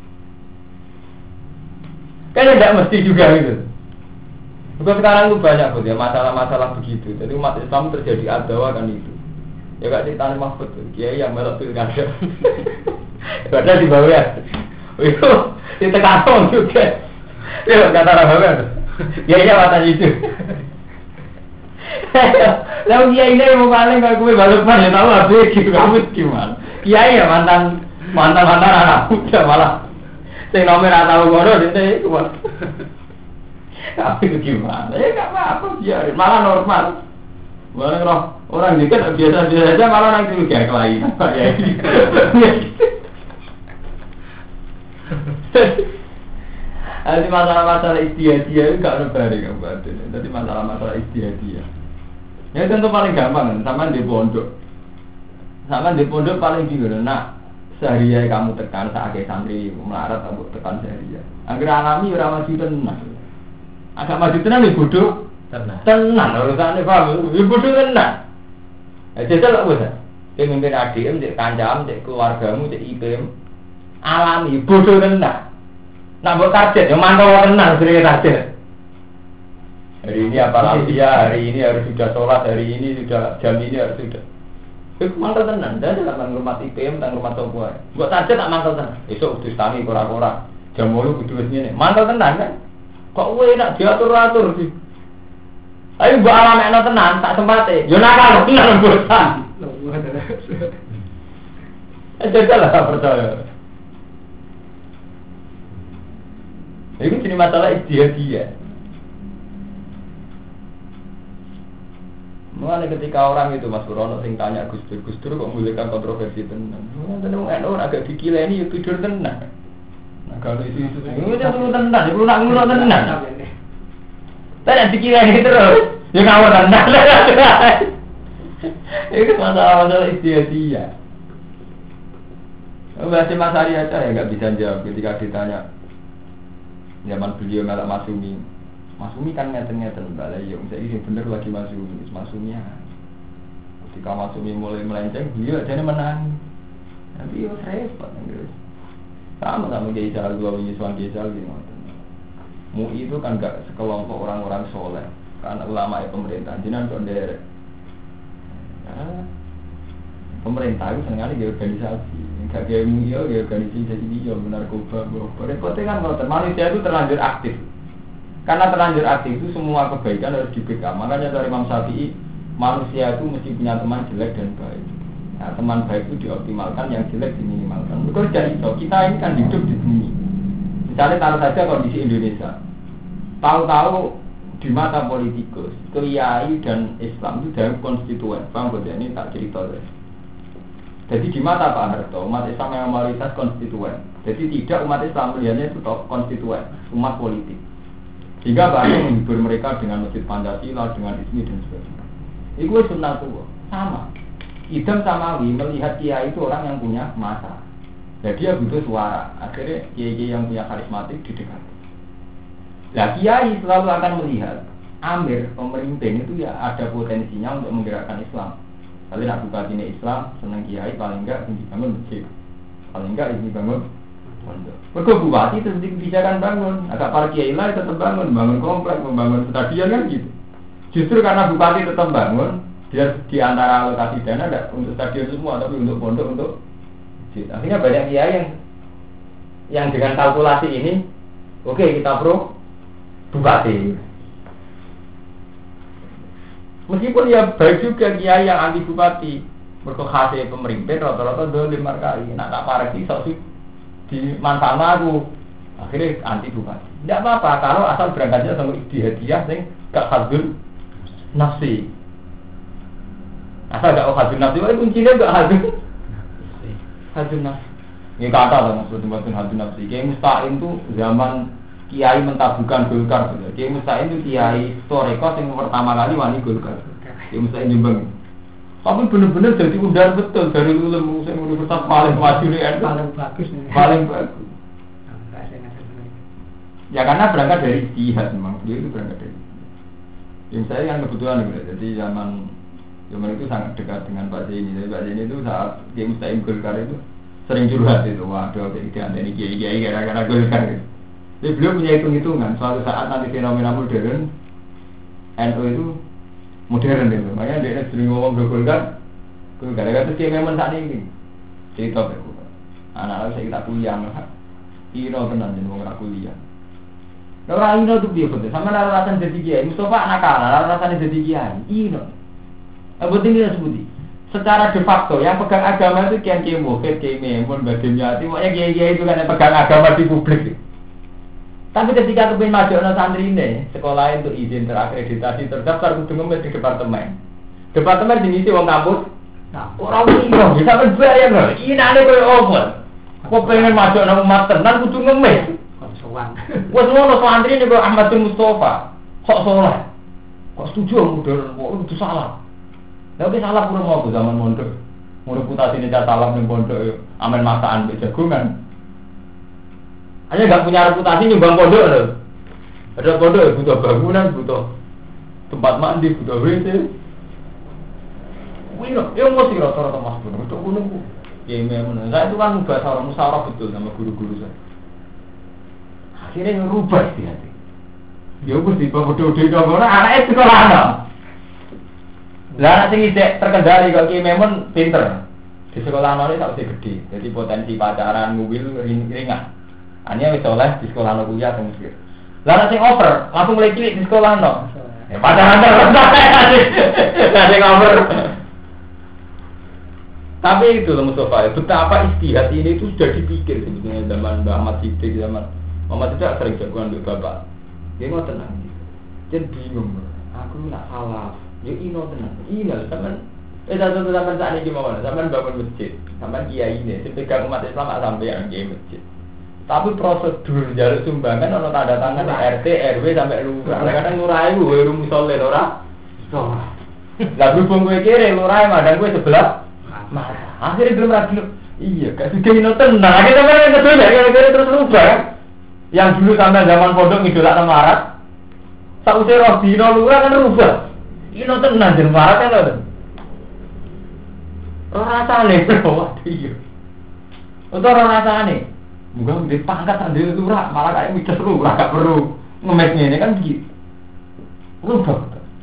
Speaker 1: Kan tidak mesti juga gitu. Bukan sekarang itu banyak ya masalah-masalah begitu. Jadi umat Islam terjadi adawa kan itu. Ya gak cerita nih Mahfud, kiai yang melok pilkada. Padahal di bawah ya, itu ditekan juga. Ya kata orang bawah, ya iya mata itu. Lalu kiai ini mau paling kalau gue balapan ya tahu habis kamu gimana? Kiai ya mantan mantan mantan anak muda malah. Saya nomor atau gono dia itu mas. Tapi itu gimana? Ya nggak apa-apa biarin, malah normal. Malah roh orang juga biasa biasa aja malah nanti juga lain. Ya. Jadi masalah-masalah istiadia itu gak ada bari kamu. Jadi masalah-masalah istiadia. Ya tentu paling gampang kan, sama di pondok. Sama di pondok paling bingung. Nah, sehari kamu tekan saat santri melarat kamu tekan sehari. Agar alami orang maju tenang. Agak maju tenang nih bodoh. Tenang. Tenang urusannya paham. Ya bodoh tenang. Ya jajal tak usah. Pemimpin A D M, cek kancam, cek keluargamu, cek I P M. Alami bodoh tenang. Nak buat target, yang mantau tenang sering target. Hari ini apa lagi ya? Hari ini harus sudah sholat, hari ini sudah jam ini harus sudah. Itu mantau tenang. Jadi tak rumah I P M, tak rumah toko. Buat target tak mantau tenang. Esok udah tani kora-kora. Jam mulu kudu ini. Mantau tenang kan? Kok gue nak diatur-atur sih? Ayo buat alam enak tenang, tak sempatnya. Yo nakal tenang bosan. Eh jadilah percaya. Ini jadi masalah istiadia. Mulai ketika orang itu Mas Purono sing tanya Gus Dur, Gus Dur kok memulihkan kontroversi tenan. Tenang, orang agak dikila ini tidur tenang. Nah kalau itu itu, itu perlu tenang, perlu nak ngurus tenang. Tapi dikila ini terus, ya ngawur tenang. Itu masalah-masalah istiadia. Masih Mas Ari aja ya nggak bisa jawab ketika ditanya. Zaman beliau melak Masumi, Masumi kan ngeten-ngeten balai, ya misalnya ini bener lagi Masumi, Masumi ya. Ketika Masumi mulai melenceng, beliau aja menang. Tapi ya repot, guys. Sama sama Kiai Jalal, dua wingi suang Kiai Jalal gitu. M U I itu kan gak sekelompok orang-orang soleh, karena ulama ya pemerintah, jinan kondere. Ya, pemerintah itu senengnya di organisasi. Gak kayak M U I ya organisasi dia benar narkoba, repotnya kan kalau manusia itu terlanjur aktif. Karena terlanjur aktif itu semua kebaikan harus diberikan. Makanya dari Imam Syafi'i, manusia itu mesti punya teman jelek dan baik. Nah, teman baik itu dioptimalkan, yang jelek diminimalkan. Betul dari itu, kita ini kan hidup di bumi. Misalnya taruh saja kondisi Indonesia. Tahu-tahu di mata politikus, kiai dan Islam itu dalam konstituen. Bang, ini tak cerita deh. Jadi di mata Pak Harto, umat Islam yang mayoritas konstituen. Jadi tidak umat Islam melihatnya itu konstituen, umat politik. Sehingga Pak Harto menghibur mereka dengan masjid Pancasila, dengan ismi dan sebagainya. Itu sunnah tua, sama. Idam Samawi melihat kiai itu orang yang punya masa. Jadi dia butuh suara. Akhirnya kiai-kiai yang punya karismatik didekati. Nah kiai selalu akan melihat amir pemimpin itu ya ada potensinya untuk menggerakkan Islam. Kalau nak buka ini Islam, senang kiai paling enggak ini bangun masjid, paling enggak ini bangun pondok. Mereka bupati terus kebijakan bangun, agak para kiai lain tetap bangun, bangun komplek, membangun stadion kan gitu. Justru karena bupati tetap bangun, dia di antara alokasi dana tidak untuk stadion semua, tapi untuk pondok untuk masjid. Akhirnya banyak kiai yang yang dengan kalkulasi ini, oke okay, kita pro bupati. Meskipun ya baik juga kiai yang anti bupati, berkehasiat pemimpin rata-rata dolim markai, nak tak parah sih sok di manfaat aku, akhirnya anti bupati. Tidak apa-apa kalau asal berangkatnya sama istiadia, sing gak hadul nafsi. Asal gak hadul nafsi, wah kuncinya gak hadul hadul nafsi. Ini kata lah maksudnya hadul nafsi. Kiai Musta'in tuh zaman kiai mentabukan Golkar, Kiai Musta'in itu kiai Toreko yang pertama kali wani Golkar. Kiai Musta'in Jombang. Tapi benar-benar jadi udar betul dari ulama yang universitas paling maju di N U. Paling bagus. Paling bagus. Ya karena berangkat dari jihad memang dia itu berangkat dari. Yang saya yang kebetulan gitu. Jadi zaman zaman itu sangat dekat dengan Pak Zaini. Jadi Pak Zaini itu saat Kiai Musta'in Golkar itu sering curhat itu. Waduh, tidak ada ini kiai-kiai gara-gara Golkar itu. Jadi beliau punya hitung-hitungan, suatu saat nanti fenomena modern N U itu modern itu, makanya dia sering ngomong Golkar, gara-gara itu dia memang saat ini cerita berkumpul. Anak-anak saya kita kuliah, kira tenang jadi mau kuliah.
Speaker 2: Orang ino tuh dia betul. Sama nara rasanya jadi kiai. Mustafa anak anak nara rasanya jadi kiai. Ino. Yang penting dia sebuti. Secara de facto yang pegang agama itu kiai kiai mufid, kiai memun, bagiannya itu. Pokoknya kiai kiai itu kan yang pegang agama di publik. Tapi ketika kepin maju anak santri ini, sekolah itu izin terakreditasi terdaftar kudu ngemis di departemen. Departemen diisi wong kampus. Nah, orang ino bisa berbayar loh. Ini ada koyo open. Kok pengen maju anak umat tenan kudu ngemis. Wes ngono santri niku Ahmad bin Mustafa. Kok saleh? Kok setuju modern? Kok itu salah? Lah wis salah pura mau zaman mondok. Mun reputasine cah salah ning pondok yo amen masakan mbek jagongan. Hanya enggak punya reputasi nyumbang pondok lho. Ada pondok butuh bangunan, butuh tempat mandi, butuh W C. Wih lho, yo mesti rata-rata Mas Bun. Untuk gunung ku. Ya memang. Saya itu kan bahasa orang musyawarah betul sama guru-guru saya. Akhirnya ngerubah sih hati. Ya aku sih bodoh-bodoh dong, anaknya sekolah no. Lah anak sing isek terkendali kok ki memang pinter. Di sekolah no ini tak usah gede. Jadi potensi pacaran mobil ringan. Hanya wis oleh di sekolah no kuliah teng Mesir. Lah anak sing over langsung mulai cilik di sekolah no. Ya pacaran terus. Lah sing over. Tapi itu loh Mustafa, betapa istihad ini itu sudah dipikir sebetulnya zaman Mbah Ahmad Siddiq, zaman Mama tidak sering jagoan untuk bapak. Dia mau tenang. Jadi bingung. Aku nak salah. Ya ino tenang. Ino zaman. Eh satu zaman saat ini gimana? Zaman bangun masjid. Zaman kiai ini. Sepegang umat Islam sampai yang kiai masjid. Tapi prosedur jalur sumbangan ono tanda tangan R T R W sampai lurah. Kadang lurah itu gue rumus soleh lurah. Lurah. Lah berhubung gue kiri lurah madang gue sebelah. Marah. Akhirnya belum ragu. Iya. Kasih ino tenang. Akhirnya mana yang kedua ya terus rubah. Yang dulu sampai zaman pondok ngidolak nang marat. Sausé roh dino lurah kan rubah. Ino tenan jeneng marat kan lho. Ora rasane waduh iya. Ora rasane. Muga ndek pangkat sandhe lurah, malah kayak midas lurah gak perlu ngemes ngene kan begitu. Rubah.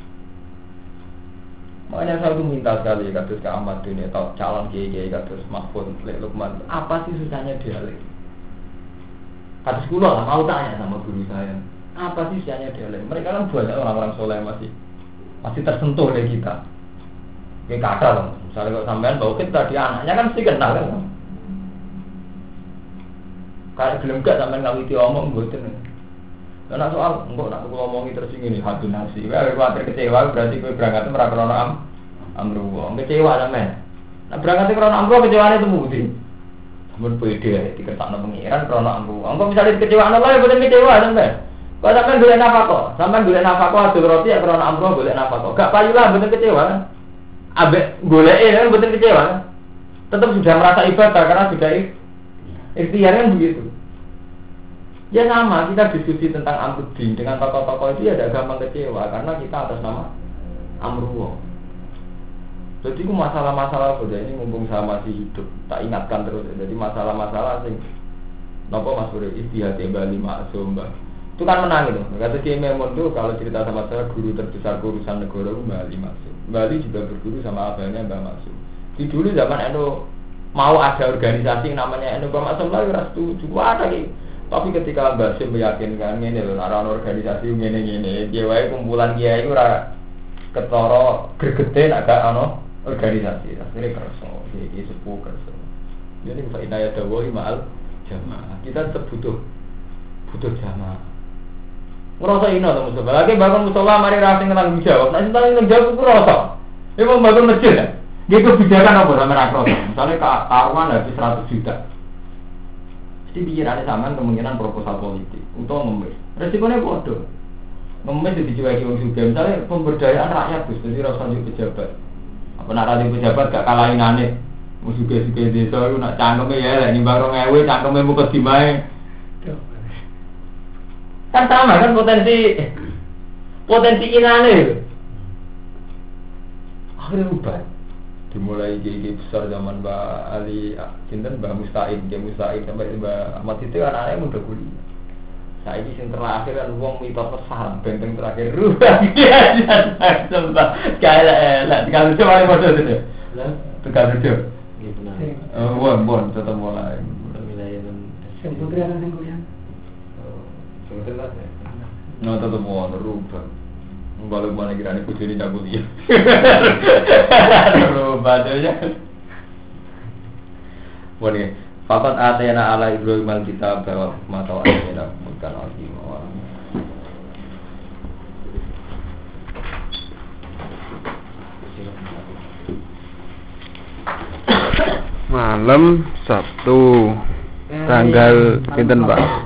Speaker 2: Makanya saya tuh minta sekali kados ke Ahmad dunia atau calon kiai-kiai kados Mahfud Lek Lukman. Apa sih susahnya dialek? Kata sekolah lah, mau tanya sama guru saya apa sih sianya dialek? Mereka kan banyak orang-orang soleh masih masih tersentuh oleh kita. Kayak kata loh, misalnya kalau sampean bawa kita dia anaknya kan mesti kenal kan. Kayak gelem gak sampean ngawiti omong mboten. Karena soal enggak nak ngomongi terus ngene hati nasi. Kowe kuwatir kecewa berarti kowe berangkat ora krana am amruwa. Kecewa sampean. Nah berangkat krana amruwa kecewane temu ndi? Mun pede ae diketakno pengiran krana amruwa. Engko misale kecewaan Allah ya boten kecewa sampean. Kok sampean golek nafkah? Sampean golek nafkah adol roti ya krana amruwa golek nafkah. Gak payu lah boten kecewa kan. Ambek goleke kan boten kecewa kan. Tetap sudah merasa ibadah karena sudah ikhtiar kan begitu. Ya sama, kita diskusi tentang Amruddin dengan tokoh-tokoh itu ya ada gampang kecewa karena kita atas nama Amruwa. Jadi itu masalah-masalah saja ini mumpung saya masih hidup, tak ingatkan terus. Jadi masalah-masalah sing nopo Mas Bro istihad Bali Maksum Mbah. Itu kan menang itu. Kata Kiai Memun tuh kalau cerita sama saya guru terbesar urusan negara itu Bali Maksum. Bali juga berguru sama abangnya Mbah Maksum. Di dulu zaman Endo mau ada organisasi yang namanya Endo Mbah Maksum lah ora setuju. Ada gitu. Tapi ketika Mbah Sim meyakinkan ngene lho, ana organisasi ngene-ngene, dia wae kumpulan kiai iku ora ketara gregete nek gak ana organisasi. Akhire kerso, iki sepuh kerso. Jadi faedah ya dawa ma'al jamaah. Kita tetap butuh butuh jamaah. Ngrasa ino to Mustafa. Lagi bangun musola mari ra sing nang jawab. Nek sing nang jawab ku rasa. Iku bangun masjid. Nggih kebijakan apa sampe ra kroso. Misale karuan habis seratus juta. Jadi pikirannya sama kemungkinan proposal politik untuk ngemis. Resikonya bodoh. Ngemis itu dicueki wong sugih. Misalnya pemberdayaan rakyat Gus, jadi rasa njuk pejabat. Apa nak rada pejabat gak kalahin aneh. Wong sugih-sugih desa iku nak cangkeme ya lek nimbang rong ewu cangkeme mukot dimae. Kan sama kan potensi potensi inane. Akhirnya ubah. Dimulai gigi besar zaman Mbak Ali, cinten Mbak Musta'in, Mbak Musta'in sampai Mbak Ahmad itu kan anaknya muda kuliah. Saya ini yang terakhir kan uang mitos pesan, benteng terakhir rubah dia sumpah, kayak lah, tinggal lucu mana bodoh itu, tinggal lucu. Oh, bon bon, tetap mulai.
Speaker 3: Putri akan kuliah.
Speaker 1: Nah tetep mau rubah. Balik mana kira nih kucing ini cabut dia. Rubah aja. Boleh. Fakat atena ala Ibrahim al-kitab bahwa mata atena bukan azim.
Speaker 3: Malam Sabtu tanggal pinten Pak?